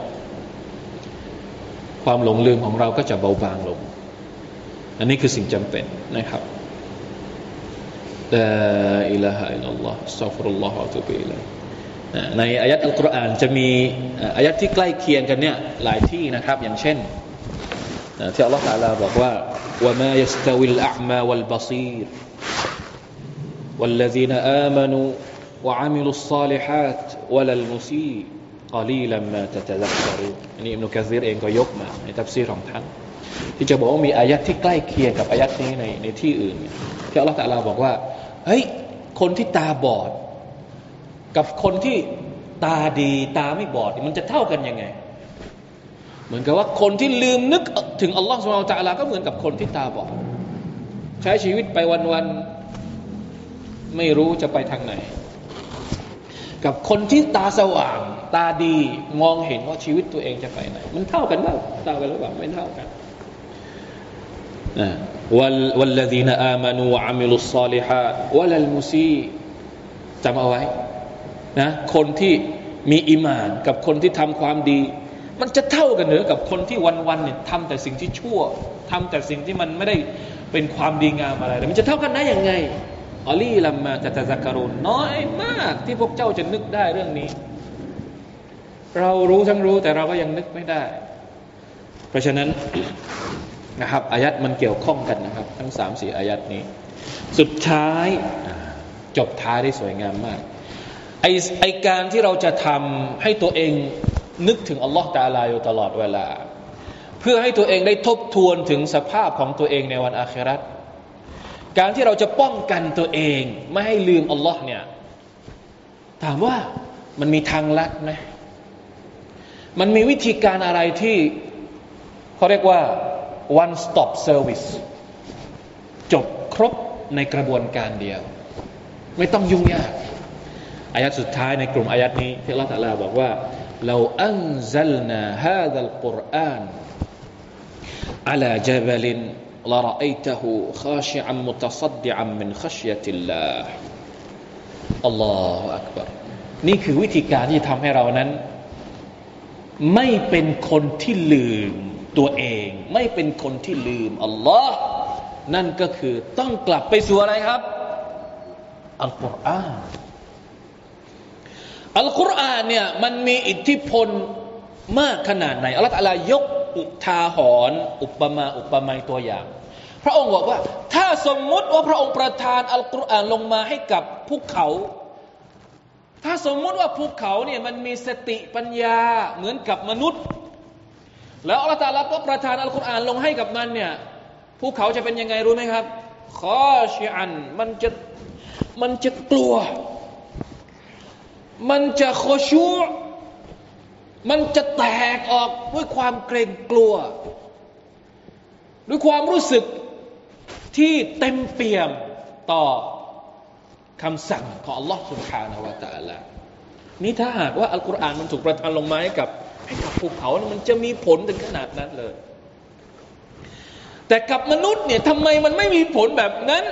ความหลงลืมของเราก็จะเบาบางลงอันนี้คือสิ่งจำเป็นนะครับลาอิลาฮะอิลลัลลอฮ์อัสตัฆฟิรุลลอฮ์วะอะตูบิอิลัยฮิในอายะห์อัลกุรอานจะมีอายะห์ที่ใกล้เคียงกันเนี่ยหลายที่นะครับอย่างเช่นที่อัลเลาะห์ตะอาลาบอกว่าวะมายัสตะวิลอะอ์มาวัลบะซีรวัลลซีนอามานูวะอะมิลุศศอลิฮาตวะลัลมุซีกอลีลัมมาตะตะซักกะรูนอันนี้อิบนุกะซีรเองก็ยกมาในตัฟซีรของท่านที่จะบอกว่ามีอายะห์ที่ใกล้เคียงกับอายะห์นี้ในในที่อื่นที่อัลเลาะห์ตะอาลาบอกว่าเฮ้ยคนที่ตาบอดกับคนที่ตาดีตาไม่บอดมันจะเท่ากันยังไงเหมือนกับว่าคนที่ลืมนึกถึงอัลลอฮฺซุบฮานะฮูวะตะอาลาก็เหมือนกับคนที่ตาบอดใช้ชีวิตไปวันๆไม่รู้จะไปทางไหนกับคนที่ตาสว่างตาดีมองเห็นว่าชีวิตตัวเองจะไปไหนมันเท่ากันเปล่าเท่ากันหรือเปล่าไม่เท่ากันนะวัลลซีนอามานูวะอะมิลุศศอลิฮาตวะลัลมุซีจำเอาไว้นะคนที่มีอีหม่านกับคนที่ทำความดีมันจะเท่ากันหรือกับคนที่วันๆเนี่ยทำแต่สิ่งที่ชั่วทำแต่สิ่งที่มันไม่ได้เป็นความดีงามอะไรมันจะเท่ากันได้ยังไงอัลลีลัมมาตะตะซักกะรูนน้อยมากที่พวกเจ้าจะนึกได้เรื่องนี้เรารู้ทั้งรู้แต่เราก็ยังนึกไม่ได้เพราะฉะนั้น นะครับอายัดมันเกี่ยวข้องกันนะครับทั้ง สามสี่ อายัดนี้สุดท้ายจบท้ายได้สวยงามมากไอไอการที่เราจะทำให้ตัวเองนึกถึงอัลลอฮฺตะอาลาอยู่ตลอดเวลาเพื่อให้ตัวเองได้ทบทวนถึงสภาพของตัวเองในวันอาคิเราะห์การที่เราจะป้องกันตัวเองไม่ให้ลืมอัลลอฮ์เนี่ยถามว่ามันมีทางลัดไหมมันมีวิธีการอะไรที่เขาเรียกว่า one stop service จบครบในกระบวนการเดียวไม่ต้องยุ่งยากอายะห์สุดท้ายในกลุ่มอายะห์นี้ที่อัลเลาะห์ตะอาลาบอกว่าเราอันซัลนาฮาซัลกุรอานอะลาญะบะลินละรออัยตะฮูคาชิอัมมุตะซัดดิอัมมินคัชยะติลลาฮ์อัลลอฮุอักบัรนี่คือวิธีการที่ทำให้เรานั้นไม่เป็นคนที่ลืมตัวเองไม่เป็นคนที่ลืมอัลลอฮ์นั่นก็คือต้องกลับไปสู่อะไรครับอัลกุรอานอัลกุรอานเนี่ยมันมีอิทธิพลมากขนาดไหนอัลเลาะห์ตะอาลายกอุทาหรณ์อุปมาอุปไมยตัวอย่างพระองค์บอกว่าถ้าสมมุติว่าพระองค์ประทานอัลกุรอานลงมาให้กับภูเขาถ้าสมมุติว่าภูเขาเนี่ยมันมีสติปัญญาเหมือนกับมนุษย์แล้วอัลเลาะห์ตะอาลาก็ประทานอัลกุรอานลงให้กับมันเนี่ยภูเขาจะเป็นยังไงรู้ไหมครับคอชิอันมันจะมันจะกลัวมันจะคอชูมันจะแตกออกด้วยความเกรงกลัวด้วยความรู้สึกที่เต็มเปี่ยมต่อคำสั่งของอัลลอฮ์ سبحانه และ تعالى นี่ถ้าหากว่าอัลกุรอานมันถูกประทานลงมาให้กับให้กับภูเขามันจะมีผลถึงขนาดนั้นเลยแต่กับมนุษย์เนี่ยทำไมมันไม่มีผลแบบนั้น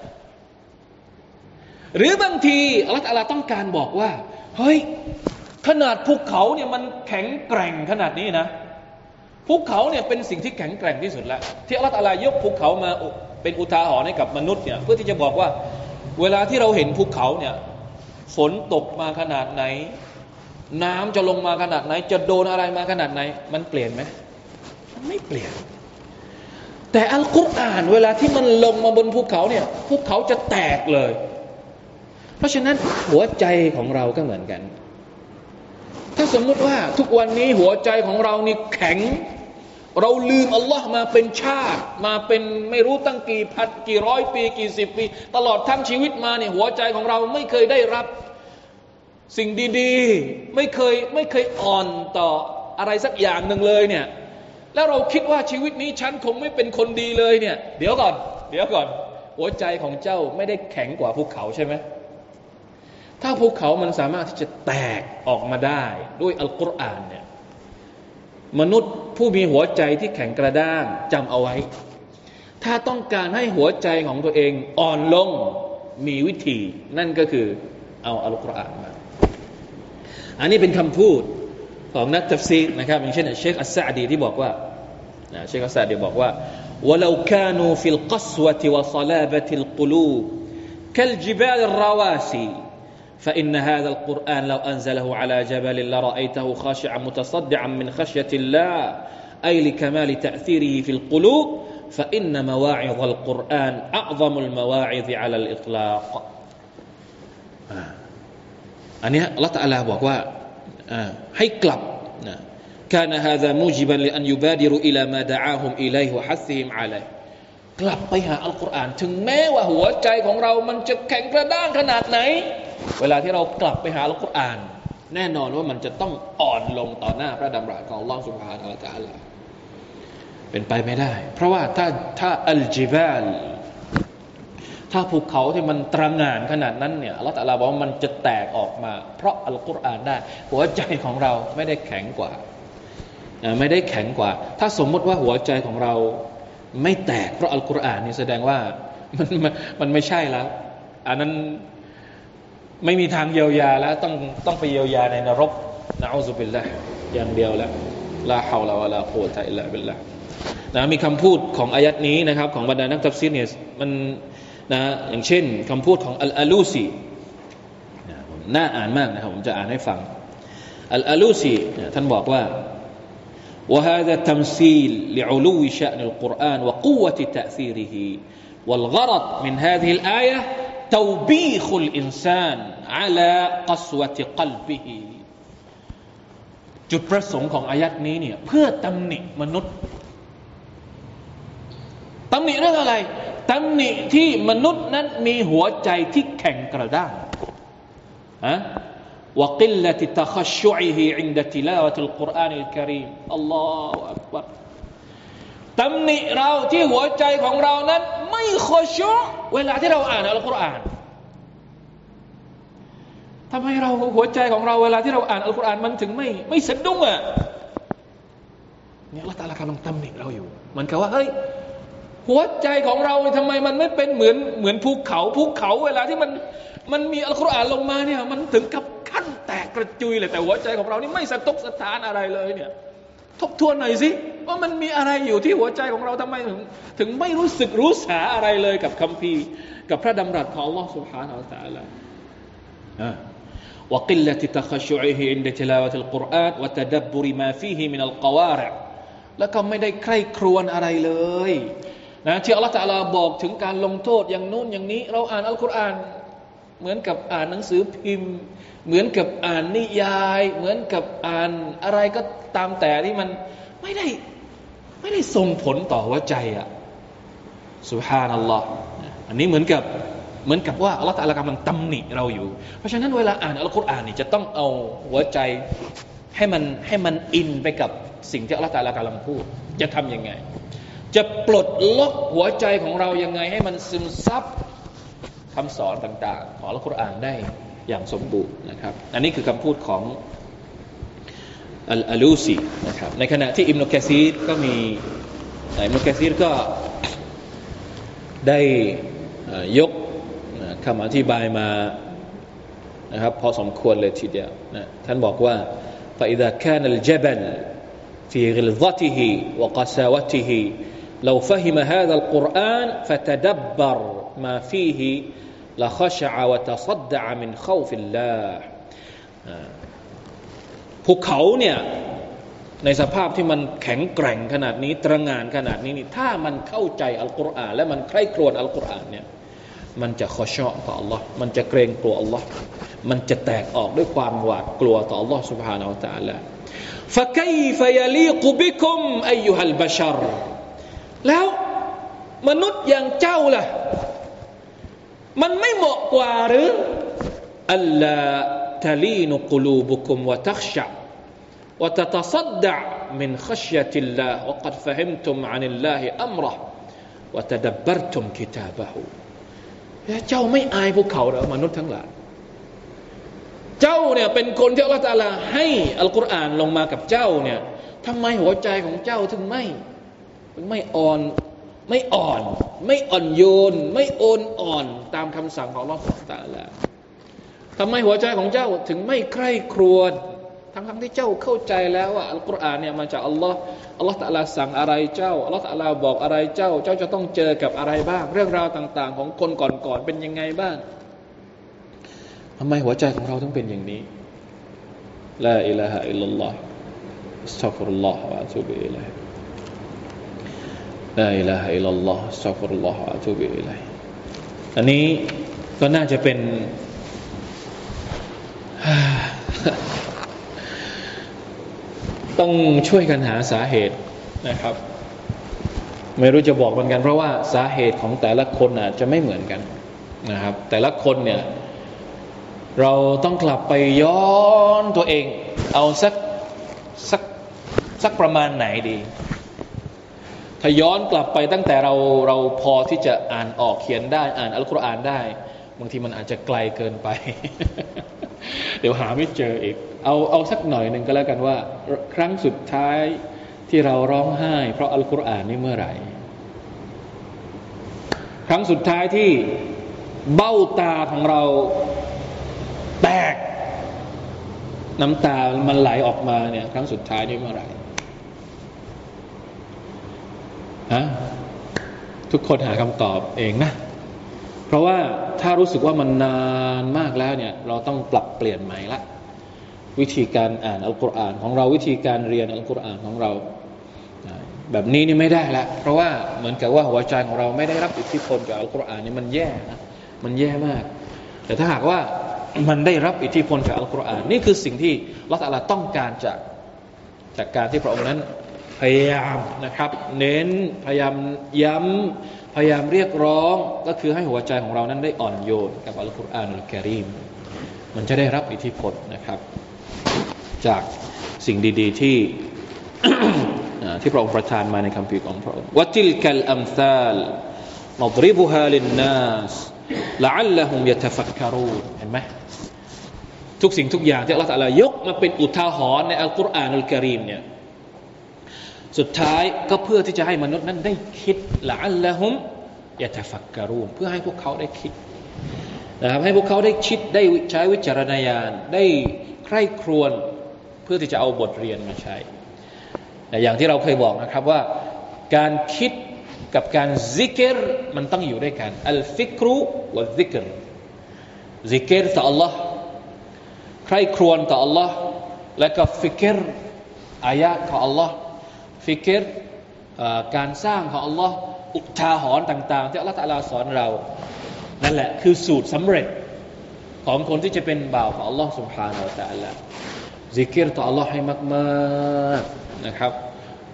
หรือบางทีอัลลอฮฺตะอาลาต้องการบอกว่าเฮ้ยขนาดภูเขาเนี่ยมันแข็งแกร่งขนาดนี้นะภูเขาเนี่ยเป็นสิ่งที่แข็งแกร่งที่สุดแล้วที่อัลลอฮฺตะอาลายกภูเขามาเป็นอุทาหรณ์ให้กับมนุษย์เนี่ยเพื่อที่จะบอกว่าเวลาที่เราเห็นภูเขาเนี่ยฝนตกมาขนาดไหนน้ำจะลงมาขนาดไหนจะโดนอะไรมาขนาดไหนมันเปลี่ยนไหมมันไม่เปลี่ยนแต่อัลกุรอานเวลาที่มันลงมาบนภูเขาเนี่ยภูเขาจะแตกเลยเพราะฉะนั้นหัวใจของเราก็เหมือนกันถ้าสมมุติว่าทุกวันนี้หัวใจของเรานี่แข็งเราลืมอัลลอฮ์มาเป็นชาติมาเป็นไม่รู้ตั้งกี่พันกี่ร้อยปีกี่สิบปีตลอดทั้งชีวิตมาเนี่ยหัวใจของเราไม่เคยได้รับสิ่งดีๆไม่เคยไม่เคยอ่อนต่ออะไรสักอย่างหนึ่งเลยเนี่ยแล้วเราคิดว่าชีวิตนี้ฉันคงไม่เป็นคนดีเลยเนี่ยเดี๋ยวก่อนเดี๋ยวก่อนหัวใจของเจ้าไม่ได้แข็งกว่าภูเขาใช่ไหมถ้าภูเขามันสามารถที่จะแตกออกมาได้ด้วยอัลกุรอานเนี่ยมนุษย์ผู้มีหัวใจที่แข็งกระด้างจำเอาไว้ถ้าต้องการให้หัวใจของตัวเองอ่อนลงมีวิธีนั่นก็คือเอาอัลกุรอานมาอันนี้เป็นคำพูดของนักตัฟซีรนะครับอย่างเช่นเชคอัสซะอดีที่บอกว่าเชคอัสซะอดีบอกว่า ولو كانوا في القسوة وصلابة القلوب كالجبال الرواسي فإن هذا القرآن لو أنزله على جبل لرأيته خاشعا متصدعا من خشية الله أي لكمال تأثيره في القلوب فإن مواعظ القرآن أعظم المواعظ على الإطلاق อันนี้อัลเลาะห์ตะอาลาบอกว่าให้กลับนะ كان هذا موجبا لأن يبادروا إلى ما دعاهم إليه وحثهم عليه กลับไปหาอัลกุรอานถึงแม้ว่าหัวใจของเรามันจะแข็งกระด้างขนาดไหนเวลาที่เรากลับไปหาอัลกุรอานแน่นอนว่ามันจะต้องอ่อนลงต่อหน้าพระดำรัสของอัลเลาะห์ซุบฮานะฮูวะตะอาลาเป็นไปไม่ได้เพราะว่าถ้าถ้าอัลจิบาลถ้าภูเขาที่มันตระหง่านขนาดนั้นเนี่ยอัลเลาะห์ตะอาลาบอกว่ามันจะแตกออกมาเพราะอัลกุรอานได้หัวใจของเราไม่ได้แข็งกว่าไม่ได้แข็งกว่าถ้าสมมติว่าหัวใจของเราไม่แตกเพราะอัลกุรอานนี่แสดงว่ามันมันไม่ใช่แล้วอันนั้นไม่มีทางเยียวยาแล้วต้องต้องไปเยียวยาในนรกนะอูซุบิลลาห์อย่างเดียวแล้วลาฮาวลาวะลากุวะตะอิลลาบิลลาห์นะมีคำพูดของอายัดนี้นะครับของบรรดานักตัฟซีรเนี่ยมันนะอย่างเช่นคำพูดของอัลอาลูซีน่าอ่านมากนะครับผมจะอ่านให้ฟังอัลอาลูซีท่านบอกว่า وهذا تمثيل لعلو شأن القرآن وقوة تأثيره والغرض من هذه الآية توبيخ الإنسان على قسوة قلبه จุดประสงค์ของอายัดนี้เนี่ยเพื่อตำหนิมนุษย์ตำหนิเรื่องอะไรตำหนิที่มนุษย์นั้นมีหัวใจที่แข็งกระด้างฮะوقلة تخشعه عند تلاوة القرآن الكريم الله أكبر ตำหนิเราที่หัวใจของเรานั้นไม่ขอชุเวลาที่เราอ่านอัลกุรอานทำไมเราหัวใจของเราเวลาที่เราอ่านอัลกุรอานมันถึงไม่ไม่สะดุ้งอ่ะเนี่ยอัลเลาะห์ตะอาลากำลังตำหนิเราอยู่มันก็ว่าเฮ้ยหัวใจของเราทำไมมันไม่เป็นเหมือนเหมือนภูเขาภูเขาเวลาที่มันมันมีอัลกุรอานลงมาเนี่ยมันถึงกับขั้นแตกกระจุยเลยแต่หัวใจของเรานี่ไม่สะทกสะท้านอะไรเลยเนี่ยทบทวนหน่อยสิว่ามันมีอะไรอยู่ที่หัวใจของเราทำไมถึงถึงไม่รู้สึกรู้สาอะไรเลยกับคัมภีร์กับพระดำรัสของอัลลอฮฺ سبحانه และ تعالى وقلة تخشعه عند تلاوة القرآن وتدبر ما فيه من القوارع แล้วก็ไม่ได้ใคร่ครวญอะไรเลยนะที่อัลลอฮฺ تعالى บอกถึงการลงโทษอย่างนู้นอย่างนี้เราอ่านอัลกุรอานเหมือนกับอ่านหนังสือพิมพ์เหมือนกับอ่านนิยายเหมือนกับอ่านอะไรก็ตามแต่ที่มันไม่ได้ไม่ได้ส่งผลต่อหัวใจอ่ะซุบฮานัลลอฮ์อันนี้เหมือนกับเหมือนกับว่าอัลเลาะห์ตะอาลากำลังตำหนิเราอยู่เพราะฉะนั้นเวลาอ่านอัลกุรอานนี่จะต้องเอาหัวใจให้มันให้มันอินไปกับสิ่งที่อัลเลาะห์ตะอาลากำลังพูดจะทำยังไงจะปลดล็อกหัวใจของเรายังไงให้มันซึมซับคำสอนต่างๆของอัลกุรอานได้อย่างสมบูรณ์นะครับอันนี้คือคำพูดของอัลอาลูซีนะครับในขณะที่อิบนุกะซีรก็มีอิบนุกะซีรก็ได้ยกคำอธิบายมานะครับพอสมควรเลยทีเดียวนะท่านบอกว่า فإذا كان الجبل في غلظته وقساوته لو فهم هذا القرآن فتدبر ما فيه لخشع وتصدع من خوف الله ภูเขาเนี่ยในสภาพที่มันแข็งแกร่งขนาดนี้ตระหง่านขนาดนี้นี่ถ้ามันเข้าใจอัลกุรอานและมันใคร่ครวญอัลกุรอานเนี่ยมันจะขอชอบต่อ Allah มันจะเกรงกลัว Allah มันจะแตกออกด้วยความหวาดกลัวต่อ Allah سبحانه และ تعالى فكيف يليق بكم أيها البشر แล้วมนุษย์อย่างเจ้าล่ะมันไม่เหมาะกว่าหรืออัลลาทะลีนุกุลูบุคุมวะตักชะวะตะตะซัดดะมินคัชยะติลลาฮ์วะกัดฟะฮิมตุมอานิลลาฮิอัมเราะห์วะตะดับบรตุมกิตาบะฮูเจ้าไม่อายพวกเขาเหรอมนุษย์ทั้งหลายเจ้าเนี่ยเป็นคนที่อัลเลาะห์ตะอาลาให้อัลกุรอานลงมากับเจ้าเนี่ยทำไมหัวใจของเจ้าถึงไม่ถึงไม่อ่อนไม่อ่อนไม่อ่อนโยนไม่โอนอ่อนตามคำสั่งของอัลเลาะห์ซุบฮานะฮูวะตะอาลาทำไมหัวใจของเจ้าถึงไม่ใคร่ครวญทั้งๆที่เจ้าเข้าใจแล้วว่าอัลกุรอานเนี่ยมาจากอัลลอฮ์อัลลอฮ์ตะอาลาสั่งอะไรเจ้าอัลลอฮ์ตะอาลาบอกอะไรเจ้าเจ้าจะต้องเจอกับอะไรบ้างเรื่องราวต่างๆของคนก่อนๆเป็นยังไงบ้างทำไมหัวใจของเราต้องเป็นอย่างนี้ลาอิลาฮะอิลลัลลอฮ์อัสตัฆฟิรุลลอฮ์วะอะตูบิอิลัยฮิลาอิลาฮะอิลลัลลอฮ์อัสตัฆฟิรุลลอฮ์วะอะตูบิอิลัยฮิอันนี้ก็น่าจะเป็นต้องช่วยกันหาสาเหตุนะครับไม่รู้จะบอกเหมือนกันเพราะว่าสาเหตุของแต่ละคนอาจจะไม่เหมือนกันนะครับแต่ละคนเนี่ยเราต้องกลับไปย้อนตัวเองเอาสักสักสักประมาณไหนดีถ้าย้อนกลับไปตั้งแต่เราเราพอที่จะอ่านออกเขียนได้อ่านอัลกุรอานได้บางทีมันอาจจะไกลเกินไป เดี๋ยวหาไม่เจออีกเอาเอาสักหน่อยหนึ่งก็แล้วกันว่าครั้งสุดท้ายที่เราร้องไห้เพราะอัลกุรอานนี่เมื่อไหร่ครั้งสุดท้ายที่เบ้าตาของเราแตกน้ำตามันไหลออกมาเนี่ยครั้งสุดท้ายนี่เมื่อไหร่ฮะทุกคนหาคำตอบเองนะเพราะว่าถ้ารู้สึกว่ามันนานมากแล้วเนี่ยเราต้องปรับเปลี่ยนใหม่ละวิธีการอ่านอัลกุรอานของเราวิธีการเรียนอัลกุรอานของเราแบบนี้นี่ไม่ได้ละเพราะว่าเหมือนกับว่าหัวใจของเราไม่ได้รับอิทธิพลจากอัลกุรอานนี่มันแย่นะมันแย่มากแต่ถ้าหากว่ามันได้รับอิทธิพลจากอัลกุรอานนี่คือสิ่งที่อัลเลาะห์ตะอาลาต้องการจากจากการที่พระองค์นั้นพยายามนะครับเน้นพยายามย้ำพยายามเรียกร้องก็คือให้หัวใจของเรานั้นได้อ่อนโยนกับอัลกุรอานอัลกะรีมมันจะได้รับอิทธิพลนะครับจากสิ่งดีๆที่ ที่พระองค์ประทานมาในคัมภีร์ของพระองค์วะติลกัลอัมซาลนัฎริบุฮาลินนัสละอัลละฮุมยะตะฟักกะรูนเห็นไหมทุกสิ่งทุกอย่างที่อัลเลาะห์ตะอาลายกมาเป็นอุทาหรณ์ในอัลกุรอานอัลกะรีมเนี่ยสุดท้ายก็เพื่อที่จะให้มนุษย์นั้นได้คิดละอัลละฮุมยะตะฟักกะรูนเพื่อให้พวกเขาได้คิดนะครับให้พวกเขาได้คิดได้ใช้วิจารณญาณได้ใคร่ครวญเพื่อที่จะเอาบทเรียนมาใช้แต่อย่างที่เราเคยบอกนะครับว่าการคิดกับการซิกรมันต้องอยู่ด้วยกันอัลฟิกรุวัลซิกรซิกรต่อ Allah ใคร่ครวญต่อ Allah และก็ฟิกรอายะห์ของ Allah ฟิกรการสร้างของ Allah อุทาหรณ์ต่างๆที่อัลเลาะห์ตะอาลาสอนเรานั่นแหละคือสูตรสำเร็จของคนที่จะเป็นบ่าวของ Allah سبحانه และ تعالى ซิกรต่อ Allah ให้มากๆนะครับ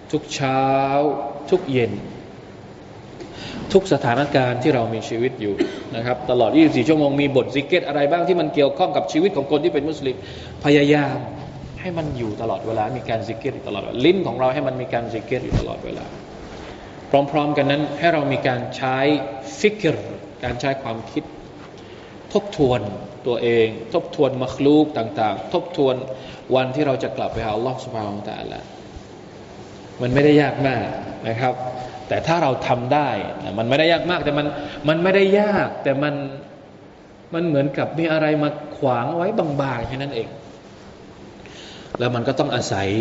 ทุกเช้าทุกเย็นทุกสถานการณ์ที่เรามีชีวิตอยู่นะครับตลอดยี่สิบสี่ชั่วโมงมีบทซิกเก็ตอะไรบ้างที่มันเกี่ยวข้องกับชีวิตของคนที่เป็นมุสลิมพยายามให้มันอยู่ตลอดเวลามีการซิกเก็ตตลอดลิ้นของเราให้มันมีการซิกเก็ตอยู่ตลอดเวลาพร้อมๆกันนั้นให้เรามีการใช้ฟิกรการใช้ความคิดทบทวนตัวเองทบทวนมัคลูกต่างๆทบทวนวันที่เราจะกลับไปหาอัลลอฮฺซุบฮานะฮูวะตะอาลามันไม่ได้ยากมากนะครับแต่ถ้าเราทำได้มันไม่ได้ยากมากแต่มันมันไม่ได้ยากแต่มันมันเหมือนกับมีอะไรมาขวางไว้บางๆแค่นั้นเองแล้วมันก็ต้องอาศัย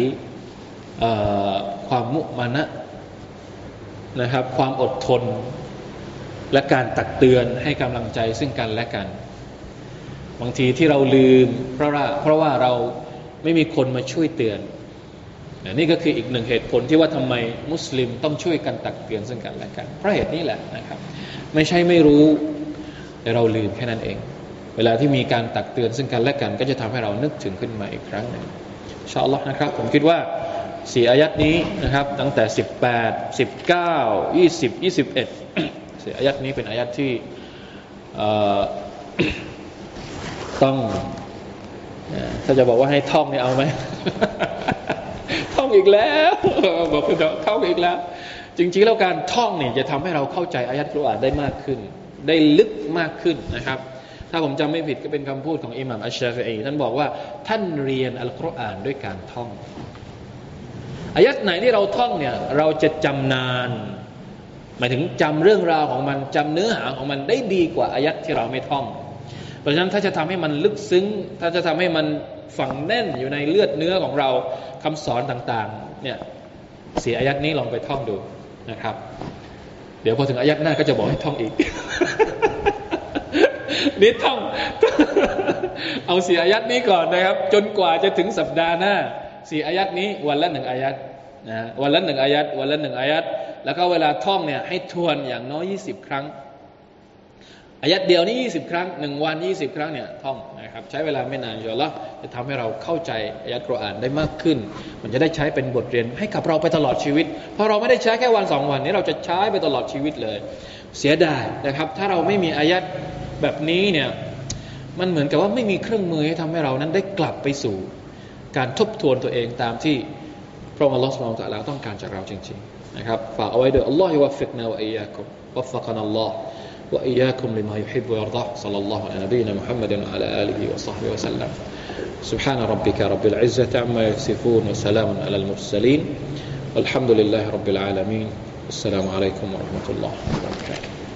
ความมุมานะนะครับความอดทนและการตักเตือนให้กำลังใจซึ่งกันและกันบางทีที่เราลืมเพราะว่าเพราะว่าเราไม่มีคนมาช่วยเตือนนี่ก็คืออีกหนึ่งเหตุผลที่ว่าทำไมมุสลิมต้องช่วยกันตักเตือนซึ่งกันและกันเพราะเหตุนี้แหละนะครับไม่ใช่ไม่รู้แต่เราลืมแค่นั้นเองเวลาที่มีการตักเตือนซึ่งกันและกันก็จะทำให้เรานึกถึงขึ้นมาอีกครั้งหนึ่งอินชาอัลลอฮ์นะครับผมคิดว่าสี่อายัดนี้นะครับตั้งแต่สิบแปด สิบเก้า ยี่สิบ ยี่สิบเอ็ดสี่อายัดนี้เป็นอายัดที่ต้องถ้าจะบอกว่าให้ท่องนี่เอาไหม ท่องอีกแล้วบอกคุณท่องอีกแล้วจริงๆแล้วการท่องเนี่ยจะทำให้เราเข้าใจอายัดกุรอานได้มากขึ้นได้ลึกมากขึ้นนะครับถ้าผมจำไม่ผิดก็เป็นคำพูดของอิหม่ามอัชชาฟิอีท่านบอกว่าท่านเรียนอัลกุรอานด้วยการท่องอายัดไหนที่เราท่องเนี่ยเราจะจำนานหมายถึงจำเรื่องราวของมันจำเนื้อหาของมันได้ดีกว่าอายัดที่เราไม่ท่องเพราะฉะนั้นถ้าจะทำให้มันลึกซึ้งถ้าจะทำให้มันฝังแน่นอยู่ในเลือดเนื้อของเราคำสอนต่างๆเนี่ยสี่อายัดนี้ลองไปท่องดูนะครับเดี๋ยวพอถึงอายัดหน้าก็จะบอกให้ท่องอีก นี่ท่องเอาสี่อายัดนี้ก่อนนะครับจนกว่าจะถึงสัปดาห์หน้าสี่อายัดนี้วันละหนึ่งอายัดนะวันละหนึ่งอายัดวันละหนึ่งอายัดแล้วก็เวลาท่องเนี่ยให้ทวนอย่างน้อยยี่สิบครั้งอายัดเดียวนี่ยี่สิบครั้งหนึ่งวันยี่สิบครั้งเนี่ยท่องนะครับใช้เวลาไม่นานอินชาอัลเลาะห์จะทำให้เราเข้าใจอายัดกุรอานได้มากขึ้นมันจะได้ใช้เป็นบทเรียนให้กับเราไปตลอดชีวิตเพราะเราไม่ได้ใช้แค่วันสองวันนี้เราจะใช้ไปตลอดชีวิตเลยเสียดายนะครับถ้าเราไม่มีอายัดแบบนี้เนี่ยมันเหมือนกับว่าไม่มีเครื่องมือให้ทำให้เรานั้นได้กลับไปสู่การทบทวนตัวเองตามที่พระองค์อัลลอฮฺซุบฮานะฮูวะตะอาลาต้องการจากเราจริงๆนะครับฝากเอาไว้ด้วยอัลลอฮฺวัฟฟิกนาวะอียากุมวัฟฟะกะนัลลอฮฺوإياكم لما يحب ويرضى صلى الله على نبينا محمد وعلى آله وصحبه وسلم سبحان ربك رب العزة عما يصفون وسلام على المرسلين والحمد لله رب العالمين السلام عليكم ورحمة الله وبركاته